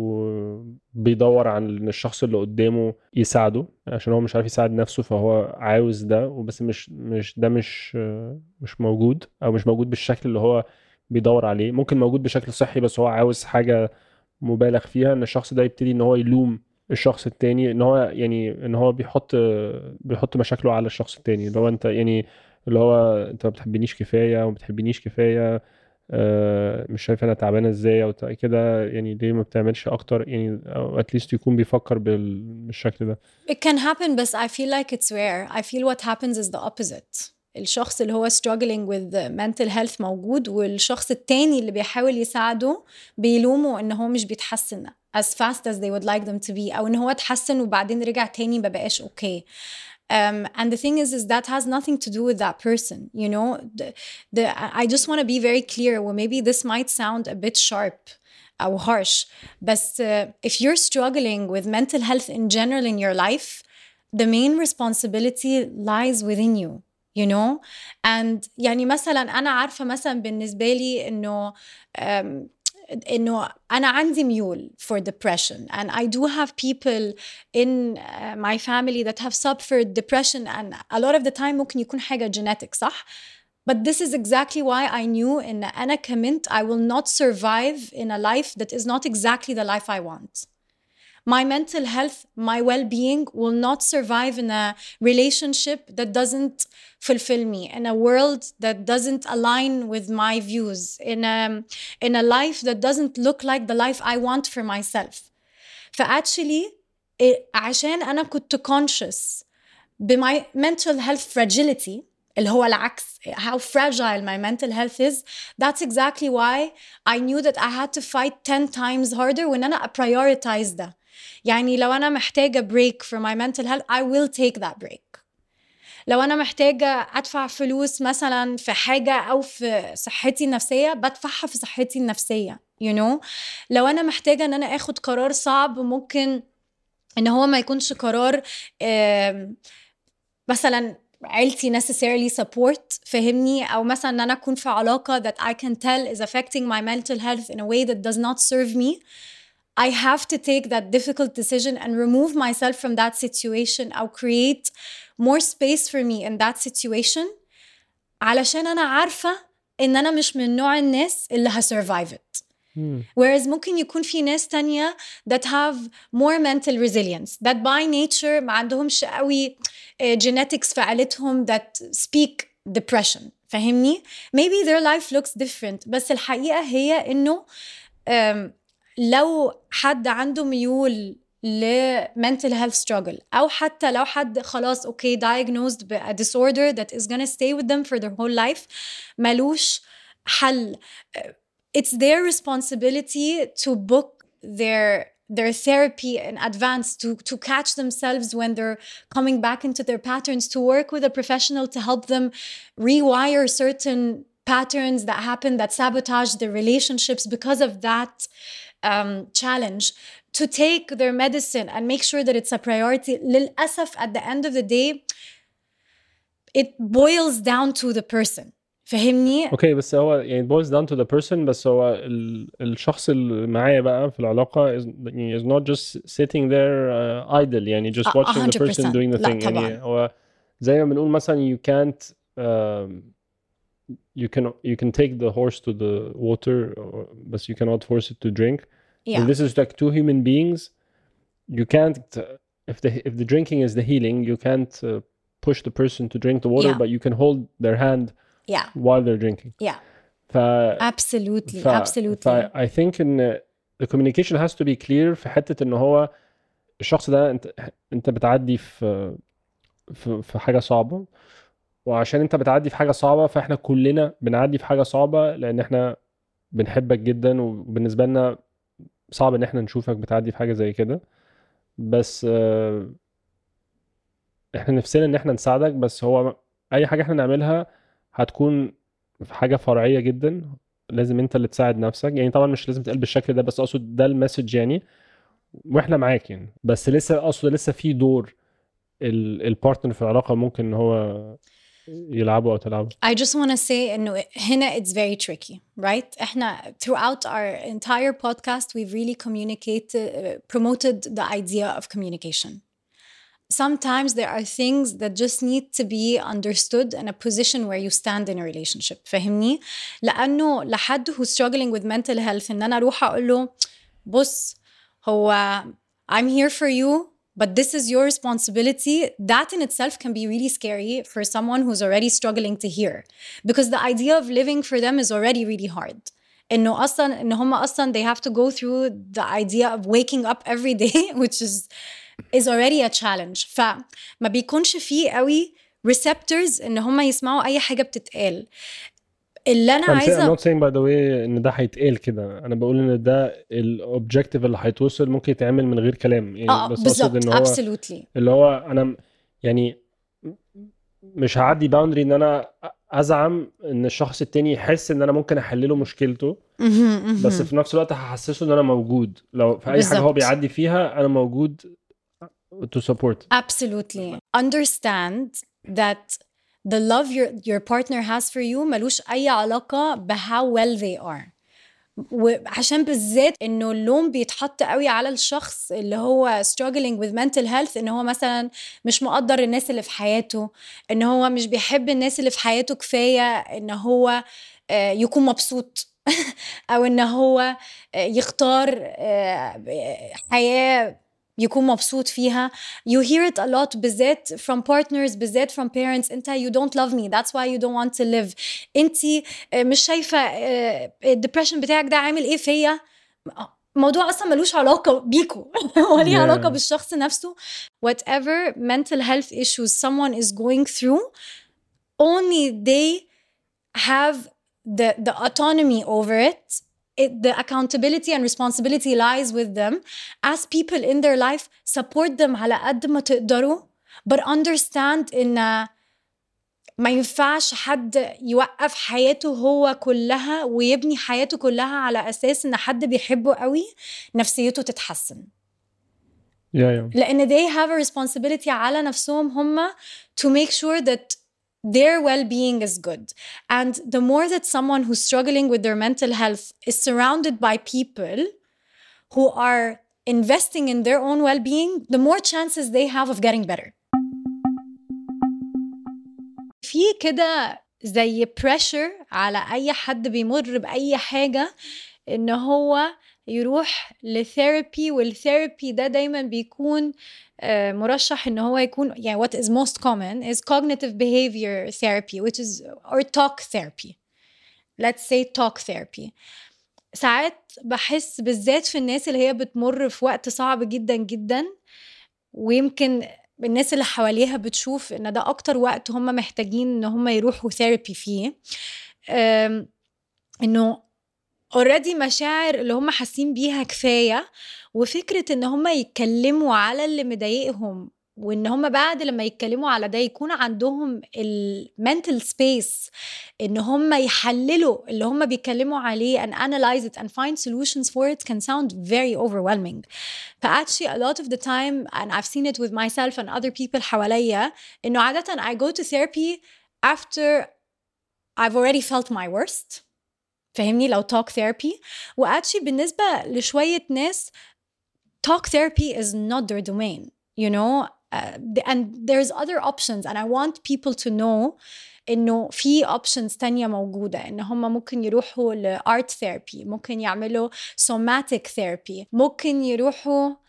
وبيدور عن ان الشخص اللي قدامه يساعده عشان هو مش عارف يساعد نفسه فهو عاوز ده وبس مش موجود او مش موجود بالشكل اللي هو بيدور عليه. ممكن موجود بشكل صحي بس هو عاوز حاجة مبالغ فيها ان الشخص ده يبتدي ان هو يلوم الشخص التاني ان هو بيحط مشاكله على الشخص التاني اللي هو انت يعني اللي هو انت ما بتحبنيش كفايه وما بتحبنيش كفايه مش شايف انا تعبانه ازاي او كده يعني ليه ما بتعملش اكتر يعني او اتليست يكون بيفكر بالشكل ده. It can happen but I feel like it's rare. I feel what happens is the opposite. الشخص اللي هو struggling with mental health موجود والشخص التاني اللي بيحاول يساعده بيلومه ان هو مش بيتحسن as fast as they would like them to be او ان هو اتحسن وبعدين رجع تاني ما بقاش okay. And the thing is that has nothing to do with that person, you know. I just want to be very clear. Well, maybe this might sound a bit sharp or harsh, but if you're struggling with mental health in general in your life, the main responsibility lies within you, you know. And يعني مثلا أنا عارفة مثلا بالنسبة لي إنه أنا عندي ميول for depression and I do have people in my family that have suffered depression and a lot of the time ممكن يكون حاجة genetic صح. But this is exactly why I knew إن أنا كمنت I will not survive in a life that is not exactly the life I want. My mental health, my well-being will not survive in a relationship that doesn't fulfill me, in a world that doesn't align with my views, in a life that doesn't look like the life I want for myself. فactually عشان أنا كنت conscious بmy mental health fragility اللي هو العكس how fragile my mental health is, that's exactly why I knew that I had to fight 10 times harder when أنا prioritize ده. يعني لو أنا محتاجة break for my mental health I will take that break. لو أنا محتاجة أدفع فلوس مثلا في حاجة أو في صحتي النفسية بدفعها في صحتي النفسية you know. لو أنا محتاجة أن أنا أخد قرار صعب ممكن أن هو ما يكونش قرار مثلا عيلتي necessarily support فهمني أو مثلا أن أنا أكون في علاقة that I can tell is affecting my mental health in a way that does not serve me, I have to take that difficult decision and remove myself from that situation or create more space for me in that situation علشان أنا عارفة إن أنا مش من نوع الناس اللي survive it. Whereas ممكن يكون في ناس تانية that have more mental resilience that by nature ما عندهمش قوي genetics في عائلتهم that speak depression فهمني. Maybe their life looks different بس الحقيقة هي إنه لو حد عنده ميول ل mental health struggle أو حتى لو حد خلاص okay diagnosed ب a disorder that is gonna stay with them for their whole life ملوش حل. It's their responsibility to book their therapy in advance, to catch themselves when they're coming back into their patterns, to work with a professional to help them rewire certain patterns that happen that sabotage their relationships because of that challenge, to take their medicine and make sure that it's a priority. للأسف at the end of the day it boils down to the person فهمني. اوكي بس هو يعني boils down to the person بس هو الشخص اللي معايا بقى في العلاقة is not just sitting there idle يعني just watching the person doing the thing. يعني هو زي ما بنقول مثلا you can't you can take the horse to the water but you cannot force it to drink. Yeah. And this is like two human beings you can't if the drinking is the healing, you can't push the person to drink the water, but you can hold their hand while they're drinking. Absolutely. I think in the communication has to be clear في حتة إنه هو الشخص ده انت بتعدي في حاجة صعبة، وعشان انت بتعدي في حاجة صعبة فاحنا كلنا بنعدي في حاجة صعبة، لان احنا بنحبك جدا، وبالنسبة لنا صعب ان احنا نشوفك بتعدي في حاجة زي كده. بس احنا نفسنا ان احنا نساعدك، بس هو اي حاجة احنا نعملها هتكون في حاجة فرعية جدا، لازم انت اللي تساعد نفسك. يعني طبعا مش لازم تقل بالشكل ده، بس اقصد ده المسج يعني، واحنا معاك يعني. بس لسه اقصد لسه في دور البارتنر في العلاقة ممكن ان هو يلعبوا او تلعبوا. I just want to say انه هنا it's very tricky, right? احنا throughout our entire podcast we've really promoted the idea of communication. Sometimes there are things that just need to be understood in a position where you stand in a relationship. فهمني؟ لأنه لحد who's struggling with mental health إن أنا أروح أقول له بص هو I'm here for you but this is your responsibility, that in itself can be really scary for someone who's already struggling to hear, because the idea of living for them is already really hard. إنه أصلاً إن هم أصلاً they have to go through the idea of waking up every day which is already a challenge. فما بيكونش فيه قوي receptors إن هم يسمعوا أي حاجة بتتقال. اللي أنا عايزة I'm not saying by the way إن ده هيتقال كده، أنا بقول إن ده الأوبجكتيف اللي هيتوصل ممكن يتعمل من غير كلام يعني. بس أقصد إن هو absolutely. اللي هو أنا يعني مش هعدي باوندري إن أنا أزعم إن الشخص التاني يحس إن أنا ممكن أحلله مشكلته، بس في نفس الوقت هحسسه إن أنا موجود لو في أي حاجة هو بيعدي فيها، أنا موجود to support. Absolutely. Understand that the love your partner has for you ملوش أي علاقة ب how well they are. وعشان بالذات إنه اللوم بيتحط قوي على الشخص اللي هو struggling with mental health، إنه هو مثلا مش مقدر الناس اللي في حياته، إنه هو مش بيحب الناس اللي في حياته كفاية إنه هو يكون مبسوط أو إنه هو يختار حياة يكون مبسوط فيها. You hear it a lot بالذات from partners، بالذات from parents. انت you don't love me that's why you don't want to live. انت مش شايفة الدبريشن بتاعك ده عامل ايه فيا. موضوع اصلا ملوش علاقة بيكو وليه علاقة بالشخص نفسه. Whatever mental health issues someone is going through, only they have the autonomy over it. The accountability and responsibility lies with them. As people in their life, support them على قد ما تقدروا, but understand إن ما ينفعش حد يوقف حياته هو كلها ويبني حياته كلها على أساس إن حد بيحبه قوي نفسيته تتحسن. لأن they have a responsibility على نفسهم هم to make sure that their well-being is good. And the more that someone who's struggling with their mental health is surrounded by people who are investing in their own well-being, the more chances they have of getting better. في كده زي pressure على أي حد بيمر بأي حاجة إن هو يروح لثيرابي، والثيرابي ده دايما بيكون مرشح إن هو يكون يعني what is most common is cognitive behavior therapy, which is or talk therapy. Let's say talk therapy. ساعات بحس بالذات في الناس اللي هي بتمر في وقت صعب جدا جدا، ويمكن الناس اللي حواليها بتشوف إن ده أكتر وقت هم محتاجين إن هم يروحوا ثيرابي فيه، إنه already مشاعر اللي هم حاسين بيها كفاية، وفكرة ان هم يتكلموا على اللي مضايقهم، وان هم بعد لما يتكلموا على ده يكون عندهم mental space ان هم يحللوا اللي هم بيتكلموا عليه and analyze it and find solutions for it can sound very overwhelming. Actually a lot of the time, and I've seen it with myself and other people حواليا، انه عادة I go to therapy after I've already felt my worst. فهمني؟ لو talk therapy. وactually بالنسبة لشوية ناس talk therapy is not their domain, you know, and there's other options, and I want people to know إنه في options تانية موجودة، إن هم ممكن يروحوا ل art therapy، ممكن يعملوا somatic therapy، ممكن يروحوا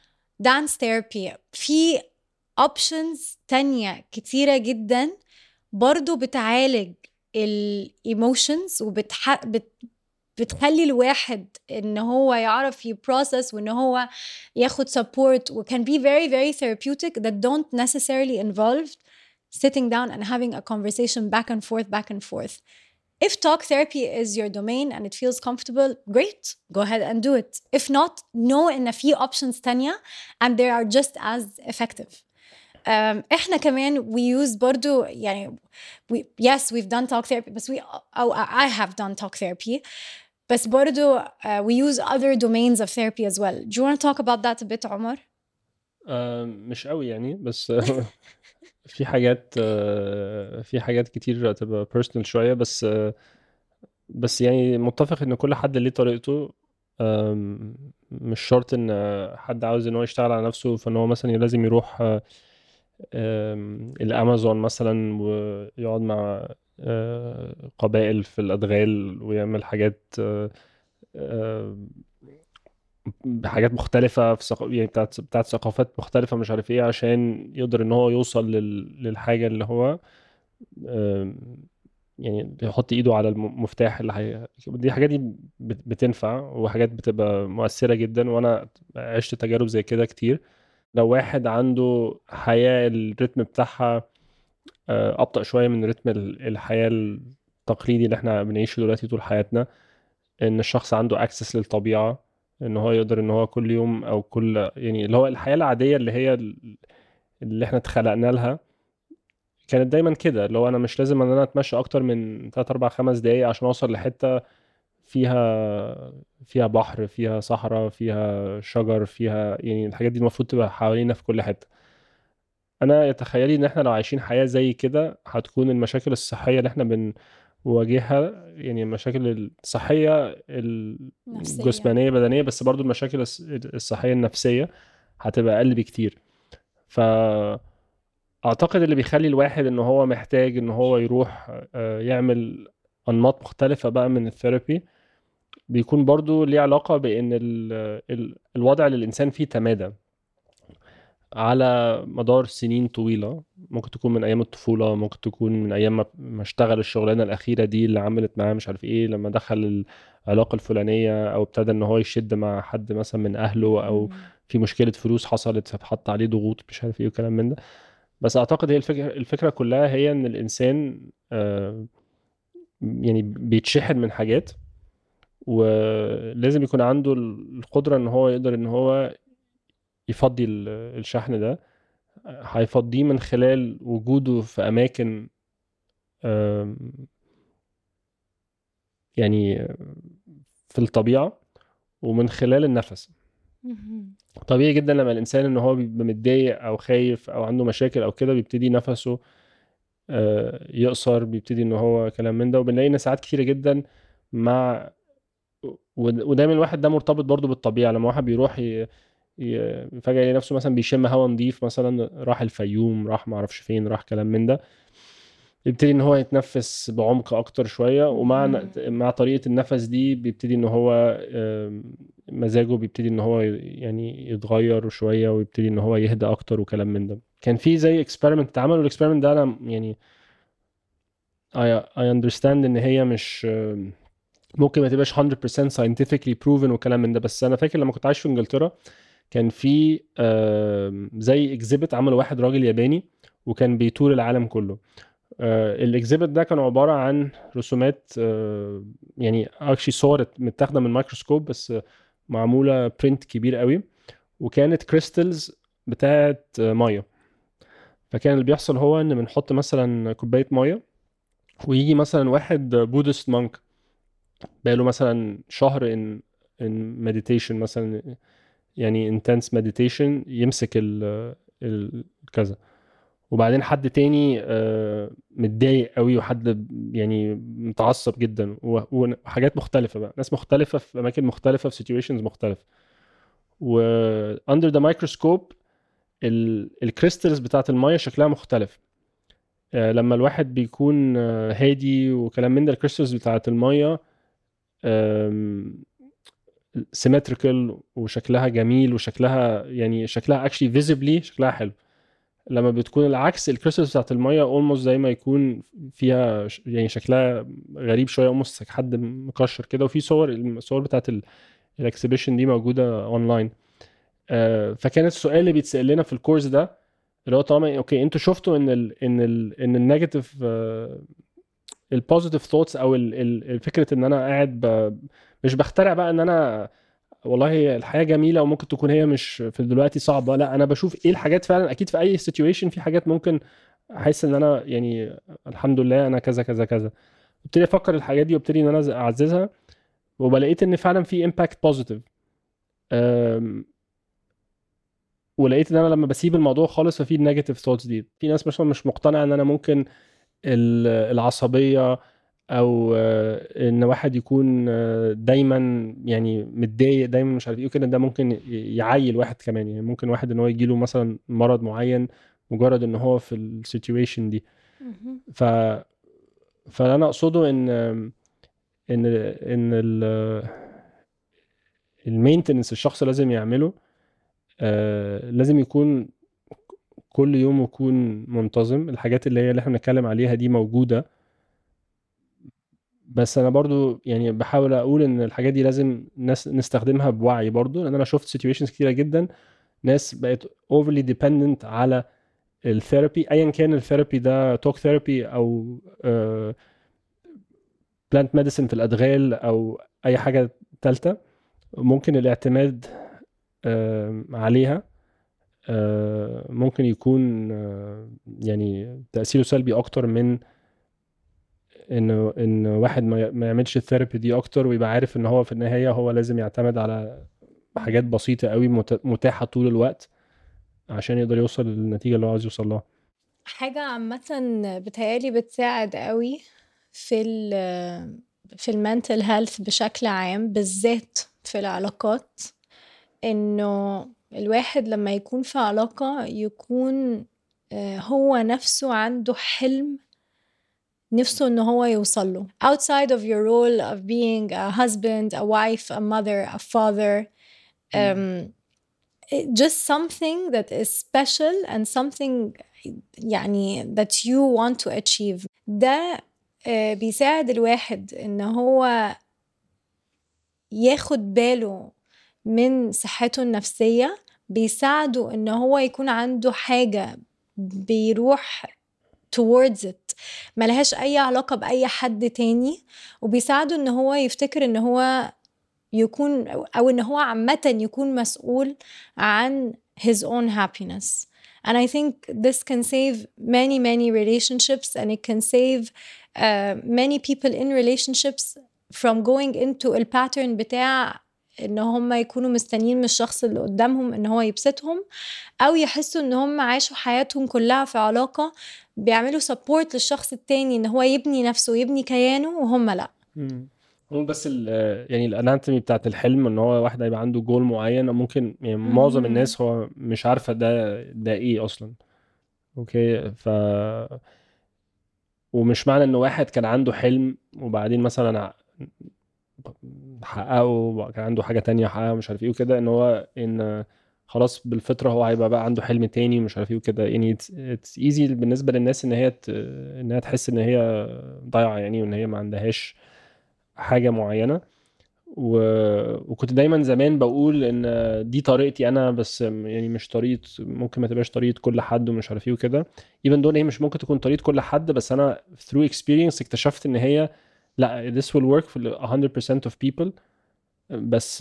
dance therapy. في options تانية كتيرة جدا برضو بتعالج emotions بتخلي الواحد ان هو يعرف يبروسس وان هو ياخد support و can be very very therapeutic that don't necessarily involve sitting down and having a conversation back and forth. If talk therapy is your domain and it feels comfortable, great, go ahead and do it. If not, know ان في options تانية and they are just as effective. احنا كمان we use برضو يعني yes we've done talk therapy بس I have done talk therapy بس برضو we use other domains of therapy as well. Do you want to talk about that a bit عمر؟ مش قوي يعني بس في حاجات كتير تبقى personal شوية بس يعني متفق ان كل حد ليه طريقته. مش شرط ان حد عاوز ان هو يشتغل على نفسه فان هو مثلا لازم يروح الامازون مثلا ويقعد مع قبائل في الادغال ويعمل حاجات بحاجات مختلفة في يعني بتاعت ثقافات مختلفة مش عارف ايه عشان يقدر ان هو يوصل للحاجة اللي هو يعني يحط ايده على المفتاح اللي دي حاجات دي بتنفع وحاجات بتبقى مؤثرة جدا وانا عشت تجارب زي كده كتير. لو واحد عنده حياة الريتم بتاعها أبطأ شوية من رتم الحياة التقليدي اللي احنا بنعيشه دلوقتي طول حياتنا، ان الشخص عنده اكسس للطبيعة ان هو يقدر ان هو كل يوم او كل يعني اللي هو الحياة العادية اللي هي اللي احنا اتخلقنا لها كانت دايما كده، اللي هو انا مش لازم ان انا اتمشى اكتر من 3 4 5 دقايق عشان اوصل لحتة فيها بحر، فيها صحراء، فيها شجر، فيها يعني الحاجات دي المفروض تبقى حوالينا في كل حتة. انا يتخيلي ان احنا لو عايشين حياة زي كده هتكون المشاكل الصحية اللي احنا بنواجهها يعني المشاكل الصحية الجسمانية بدنية بس برضو المشاكل الصحية النفسية هتبقى اقل بكتير. فاعتقد اللي بيخلي الواحد ان هو محتاج ان هو يروح يعمل انماط مختلفة بقى من الثيرابي بيكون برضو ليه علاقة بان الوضع اللي الانسان فيه تمادى على مدار سنين طويلة، ممكن تكون من أيام الطفولة، ممكن تكون من أيام ما اشتغل الشغلانة الأخيرة دي اللي عملت معاه مش عارف إيه لما دخل العلاقة الفلانية أو ابتدى إن هو يشد مع حد مثلا من أهله أو في مشكلة فلوس حصلت فاتحط عليه ضغوط مش عارف إيه وكلام من ده. بس أعتقد هي الفكرة كلها هي إن الإنسان يعني بيتشحن من حاجات ولازم يكون عنده القدرة إن هو يقدر إن هو يفضي الشحن ده. هيفضيه من خلال وجوده في أماكن يعني في الطبيعة ومن خلال النفس. طبيعي جدا لما الإنسان إن هو بيبقى متضايق أو خايف أو عنده مشاكل أو كده بيبتدي نفسه يقصر، بيبتدي إن هو كلام من ده. وبنلاقي إن ساعات كتيرة جدا مع ودايما الواحد ده مرتبط برضو بالطبيعة. لما واحد بيروح فجأة يلاقي نفسه مثلا بيشم هوا نظيف، مثلا راح الفيوم، راح معرفش فين، راح كلام من ده، يبتدي ان هو يتنفس بعمق اكتر شوية. ومع طريقة النفس دي بيبتدي ان هو مزاجه بيبتدي ان هو يعني يتغير شوية ويبتدي ان هو يهدى اكتر وكلام من ده. كان في زي اكسبيرمنت اتعمل والاكسبيرمنت ده انا يعني I understand ان هي مش ممكن ما تبقاش 100% scientifically proven وكلام من ده. بس انا فاكر لما كنت عايش في انجلترا كان في زي اكزيبت عمله واحد راجل ياباني وكان بيتور العالم كله. الاكزيبت ده كان عبارة عن رسومات يعني اكشلي صور متاخده من مايكروسكوب بس معمولة برنت كبير قوي، وكانت كريستلز بتاعت ميه. فكان اللي بيحصل هو ان بنحط مثلا كوباية ميه ويجي مثلا واحد بودست مونك بقاله مثلا شهر ان مديتيشن مثلا يعني intense meditation يمسك كذا، وبعدين حد تاني متضايق قوي وحد يعني متعصب جدا وحاجات مختلفة بقى، ناس مختلفة في أماكن مختلفة في situations مختلفة. و under the microscope الكريستالز بتاعت المية شكلها مختلف. لما الواحد بيكون هادي وكلام من ده الكريستالز بتاعت المية symmetrical وشكلها جميل وشكلها يعني شكلها actually visibly شكلها حلو. لما بتكون العكس الكريستالز بتاعت الميه almost زي ما يكون فيها يعني شكلها غريب شويه almost حد مكشر كده. وفي الصور بتاعت الاكسبيشن دي موجوده اونلاين. فكان السؤال اللي بيتسال لنا في الكورس ده اللي هو طالما اوكي انتوا شفتوا ان النيجاتيف البوزيتيف ثوتس او الفكره ان انا قاعد مش بخترع بقى ان انا والله الحياه جميله وممكن تكون هي مش في دلوقتي صعبه، لا انا بشوف ايه الحاجات فعلا. اكيد في اي سيتويشن في حاجات ممكن احس ان انا يعني الحمد لله انا كذا كذا كذا، ابتدي افكر الحاجات دي وابتدي ان انا اعززها وبلاقيت ان فعلا في امباكت بوزيتيف. ولقيت ان انا لما بسيب الموضوع خالص ففي النيجاتيف ثوتس دي. في ناس مثلا مش مقتنعه ان انا ممكن العصبيه او ان واحد يكون دايما يعني متضايق دايما مش عارف ايه وكده، ده ممكن يعيل واحد كمان. يعني ممكن واحد ان هو يجيله مثلا مرض معين مجرد ان هو في السيتويشن دي. فانا اقصده ان المينتنس الشخص لازم يعمله لازم يكون كل يوم يكون منتظم. الحاجات اللي احنا بنتكلم عليها دي موجودة، بس انا برضو يعني بحاول اقول ان الحاجات دي لازم ناس نستخدمها بوعي برضو، لان انا شفت سيتويشنز كتيرة جدا ناس بقت overly dependent على الثيرابي، ايا كان الثيرابي ده توك ثيرابي او بلانت ميديسن في الادغال او اي حاجة تالتة. ممكن الاعتماد عليها ممكن يكون يعني تأثيره سلبي اكتر من ان واحد ما يعملش الثيرابي دي اكتر ويبقى عارف ان هو في النهاية هو لازم يعتمد على حاجات بسيطة قوي متاحة طول الوقت عشان يقدر يوصل للنتيجة اللي هو عايز يوصل لها. حاجة عامة بتهيالي بتساعد قوي في المنتل هيلث بشكل عام، بالذات في العلاقات، انه الواحد لما يكون في علاقة يكون هو نفسه عنده حلم نفسه انه هو يوصل له outside of your role of being a husband, a wife, a mother, a father. Just something that is special and something يعني that you want to achieve. ده بيساعد الواحد ان هو ياخد باله من صحته النفسية، بيساعده ان هو يكون عنده حاجة بيروح towards it ملهاش اي علاقة بأي حد تاني، وبيساعده ان هو يفتكر ان هو يكون او ان هو عامة يكون مسؤول عن his own happiness. And I think this can save many relationships, and it can save many people in relationships from going into a pattern بتاع ان هم يكونوا مستنيين من الشخص اللي قدامهم ان هو يبسطهم، او يحسوا ان هم عاشوا حياتهم كلها في علاقة بيعملوا support للشخص التاني ان هو يبني نفسه ويبني كيانه وهم لا. هو بس يعني الاناتومي بتاعت الحلم ان هو واحد هيبقى عنده جول معين، ممكن يعني معظم الناس هو مش عارفة ده ايه اصلا. اوكي ومش معنى ان واحد كان عنده حلم وبعدين مثلا حققه وكان عنده حاجة تانية حققها مش عارف ايه وكده ان هو ان خلاص بالفطرة هو هيبقى بقى عنده حلم تاني ومش عارف ايه وكده. يعني it's easy بالنسبة للناس انها تحس ان هي ضايعة يعني وان هي ما عندهاش حاجة معينة. وكنت دايما زمان بقول ان دي طريقتي انا بس، يعني مش طريقة، ممكن ما تبقاش طريقة كل حد ومش عارف ايه وكده. even though هي مش ممكن تكون طريقة كل حد، بس انا through experience اكتشفت ان هي لا this will work for 100% of people. بس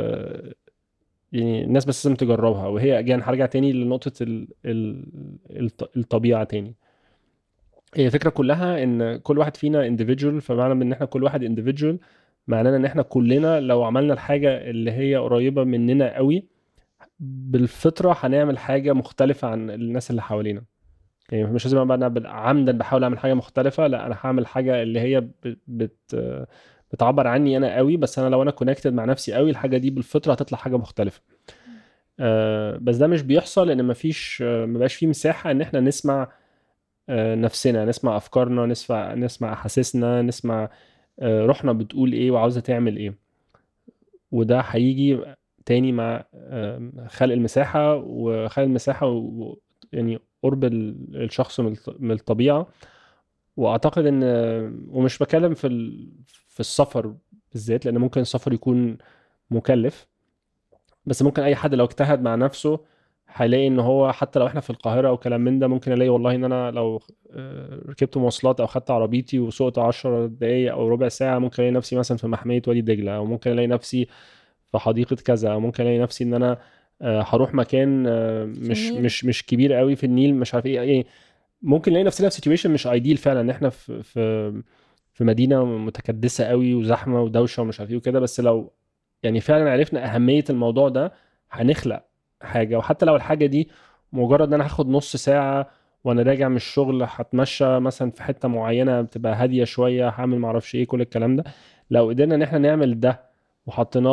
يعني الناس بس لازم تجربها. وهي again هرجع تاني لنقطة الطبيعة تاني. هي الفكرة كلها ان كل واحد فينا individual، فمعنى ان احنا كل واحد individual معنانا ان احنا كلنا لو عملنا الحاجة اللي هي قريبة مننا قوي بالفطرة هنعمل حاجة مختلفة عن الناس اللي حوالينا. يعني مش لازم ابقى انا عمدا بحاول اعمل حاجة مختلفة، لا انا هعمل حاجة اللي هي بتعبر عني انا قوي، بس انا لو انا كونكتد مع نفسي قوي الحاجة دي بالفطرة هتطلع حاجة مختلفة. بس ده مش بيحصل لان ما بقاش فيه مساحة ان احنا نسمع نفسنا، نسمع افكارنا، نسمع احاسيسنا، نسمع روحنا بتقول ايه وعاوزة تعمل ايه. وده هيجي تاني مع خلق المساحة وخلق المساحة يعني قرب الشخص من الطبيعة. واعتقد ان ومش بكلم في السفر بالذات، لان ممكن السفر يكون مكلف، بس ممكن اي حد لو اجتهد مع نفسه هيلاقي ان هو حتى لو احنا في القاهرة او كلام من ده، ممكن الاقي والله ان انا لو ركبت مواصلات او خدت عربيتي وسوقت 10 دقايق او ربع ساعة، ممكن الاقي نفسي مثلا في محمية وادي دجلة، او ممكن الاقي نفسي في حديقة كذا، او ممكن الاقي نفسي ان انا هروح مكان مش كبير قوي في النيل، مش عارف ايه. ممكن نلاقي نفسنا في سيتويشن مش ايديل فعلا، ان احنا في مدينه متكدسه قوي وزحمه ودوشه ومش عارف ايه وكده. بس لو يعني فعلا عرفنا اهميه الموضوع ده، هنخلق حاجه. وحتى لو الحاجه دي مجرد ان انا هاخد نص ساعه وانا راجع من الشغل، هتمشى مثلا في حته معينه بتبقى هاديه شويه، هعمل معرفش ايه، كل الكلام ده لو قدرنا ان احنا نعمل ده وحطينا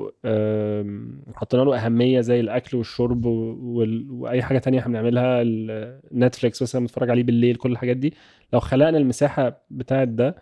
له أهمية زي الأكل والشرب وأي حاجة تانية احنا بنعملها، نتفليكس مثلا بنتفرج عليه بالليل، كل الحاجات دي لو خلقنا المساحة بتاعت ده،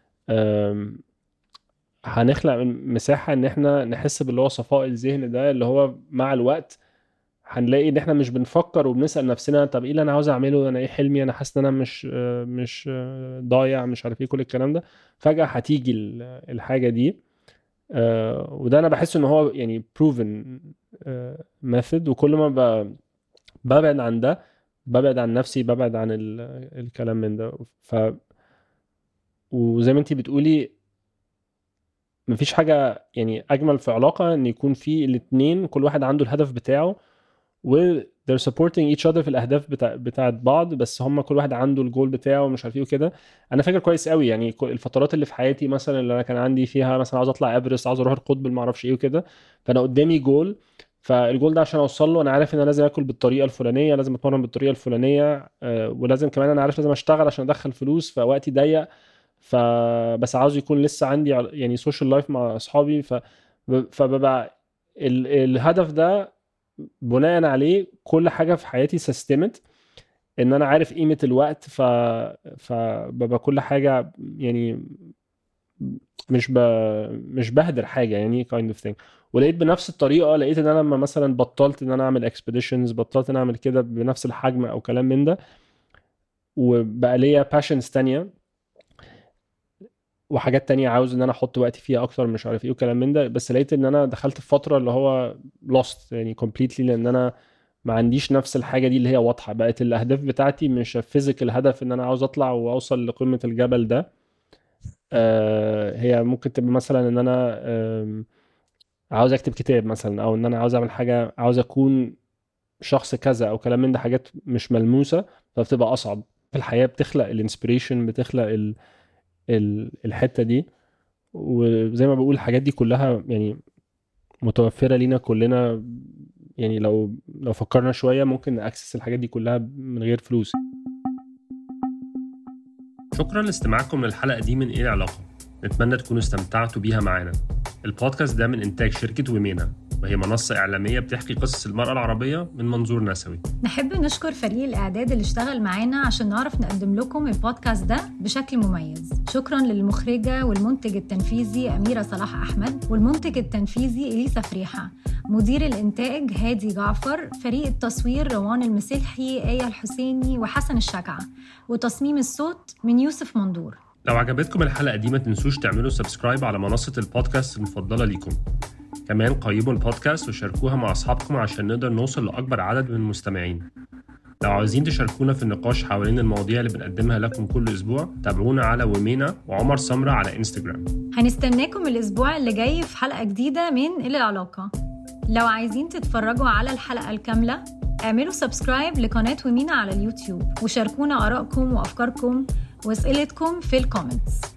هنخلق مساحة ان احنا نحس باللي هو صفاء الذهن ده، اللي هو مع الوقت هنلاقي ان احنا مش بنفكر وبنسأل نفسنا طب ايه اللي انا عاوز اعمله، انا ايه حلمي، انا حاسس ان انا مش ضايع، مش عارف ايه، كل الكلام ده فجأة هتيجي الحاجة دي. وده انا بحس ان هو يعني proven method. وكل ما ببعد عن ده، ببعد عن نفسي، ببعد عن الكلام من ده. وزي ما انتي بتقولي، مفيش حاجة يعني اجمل في علاقة ان يكون في الاتنين كل واحد عنده الهدف بتاعه و they're supporting each other في الاهداف بتاعت بعض، بس هم كل واحد عنده الجول بتاعه ومش عارف ايه وكده. انا فاكر كويس قوي يعني الفترات اللي في حياتي مثلا اللي انا كان عندي فيها مثلا عاوز اطلع ايفرست، عاوز اروح القطب، ما اعرفش ايه وكده، فانا قدامي جول، فالجول ده عشان اوصل له انا عارف ان انا لازم اكل بالطريقه الفلانيه، لازم اتمرن بالطريقه الفلانيه، ولازم كمان انا عارف لازم اشتغل عشان ادخل فلوس، فوقتي ضيق، فبس عاوز يكون لسه عندي يعني سوشيال لايف مع اصحابي، فببقى الهدف ده بناء عليه كل حاجة في حياتي سيستمت، ان انا عارف قيمة الوقت، فببقى كل حاجة يعني مش بهدر حاجة يعني kind of thing. ولقيت بنفس الطريقة، لقيت ان انا لما مثلا بطلت ان انا اعمل expeditions، بطلت ان انا اعمل كده بنفس الحجم او كلام من ده، وبقى ليا passions تانية وحاجات تانية عاوز ان انا احط وقتي فيها اكتر، مش عارف ايه وكلام من ده. بس لقيت ان انا دخلت في فترة اللي هو lost يعني completely، لان انا ما عنديش نفس الحاجة دي اللي هي واضحة. بقت الاهداف بتاعتي مش فيزيكال هدف ان انا عاوز اطلع واوصل لقمة الجبل ده، هي ممكن تبقى مثلا ان انا عاوز اكتب كتاب مثلا، او ان انا عاوز اعمل حاجة، عاوز اكون شخص كذا او كلام من ده، حاجات مش ملموسة، فبتبقى اصعب في الحياة، بتخلق الانسبريشن، بتخلق الحتة دي. وزي ما بقول الحاجات دي كلها يعني متوفرة لينا كلنا، يعني لو فكرنا شوية ممكن نأكسس الحاجات دي كلها من غير فلوس. شكرا لاستماعكم للحلقة دي من ايه العلاقة، نتمنى تكونوا استمتعتوا بيها معانا. البودكاست ده من إنتاج شركة ومينا، وهي منصة إعلامية بتحكي قصص المرأة العربية من منظور نسوي. نحب نشكر فريق الإعداد اللي اشتغل معانا عشان نعرف نقدم لكم البودكاست ده بشكل مميز. شكرا للمخرجة والمنتج التنفيذي أميرة صلاح أحمد، والمنتج التنفيذي إليسا فريحة، مدير الإنتاج هادي جعفر، فريق التصوير روان المسلحي، آية الحسيني وحسن الشجعة، وتصميم الصوت من يوسف مندور. لو عجبتكم الحلقة دي ما تنسوش تعملوا سبسكرايب على منصة البودكاست المفضلة ليكم. كمان قيموا البودكاست وشاركوها مع أصحابكم عشان نقدر نوصل لأكبر عدد من المستمعين. لو عاوزين تشاركونا في النقاش حوالين المواضيع اللي بنقدمها لكم كل أسبوع، تابعونا على ومينا وعمر سمرة على إنستجرام. هنستناكم الأسبوع اللي جاي في حلقة جديدة من إلى العلاقة. لو عايزين تتفرجوا على الحلقة الكاملة، اعملوا سبسكرايب لقناة ومينا على اليوتيوب، وشاركونا آرائكم وأفكاركم وأسئلتكم في الكومنتس.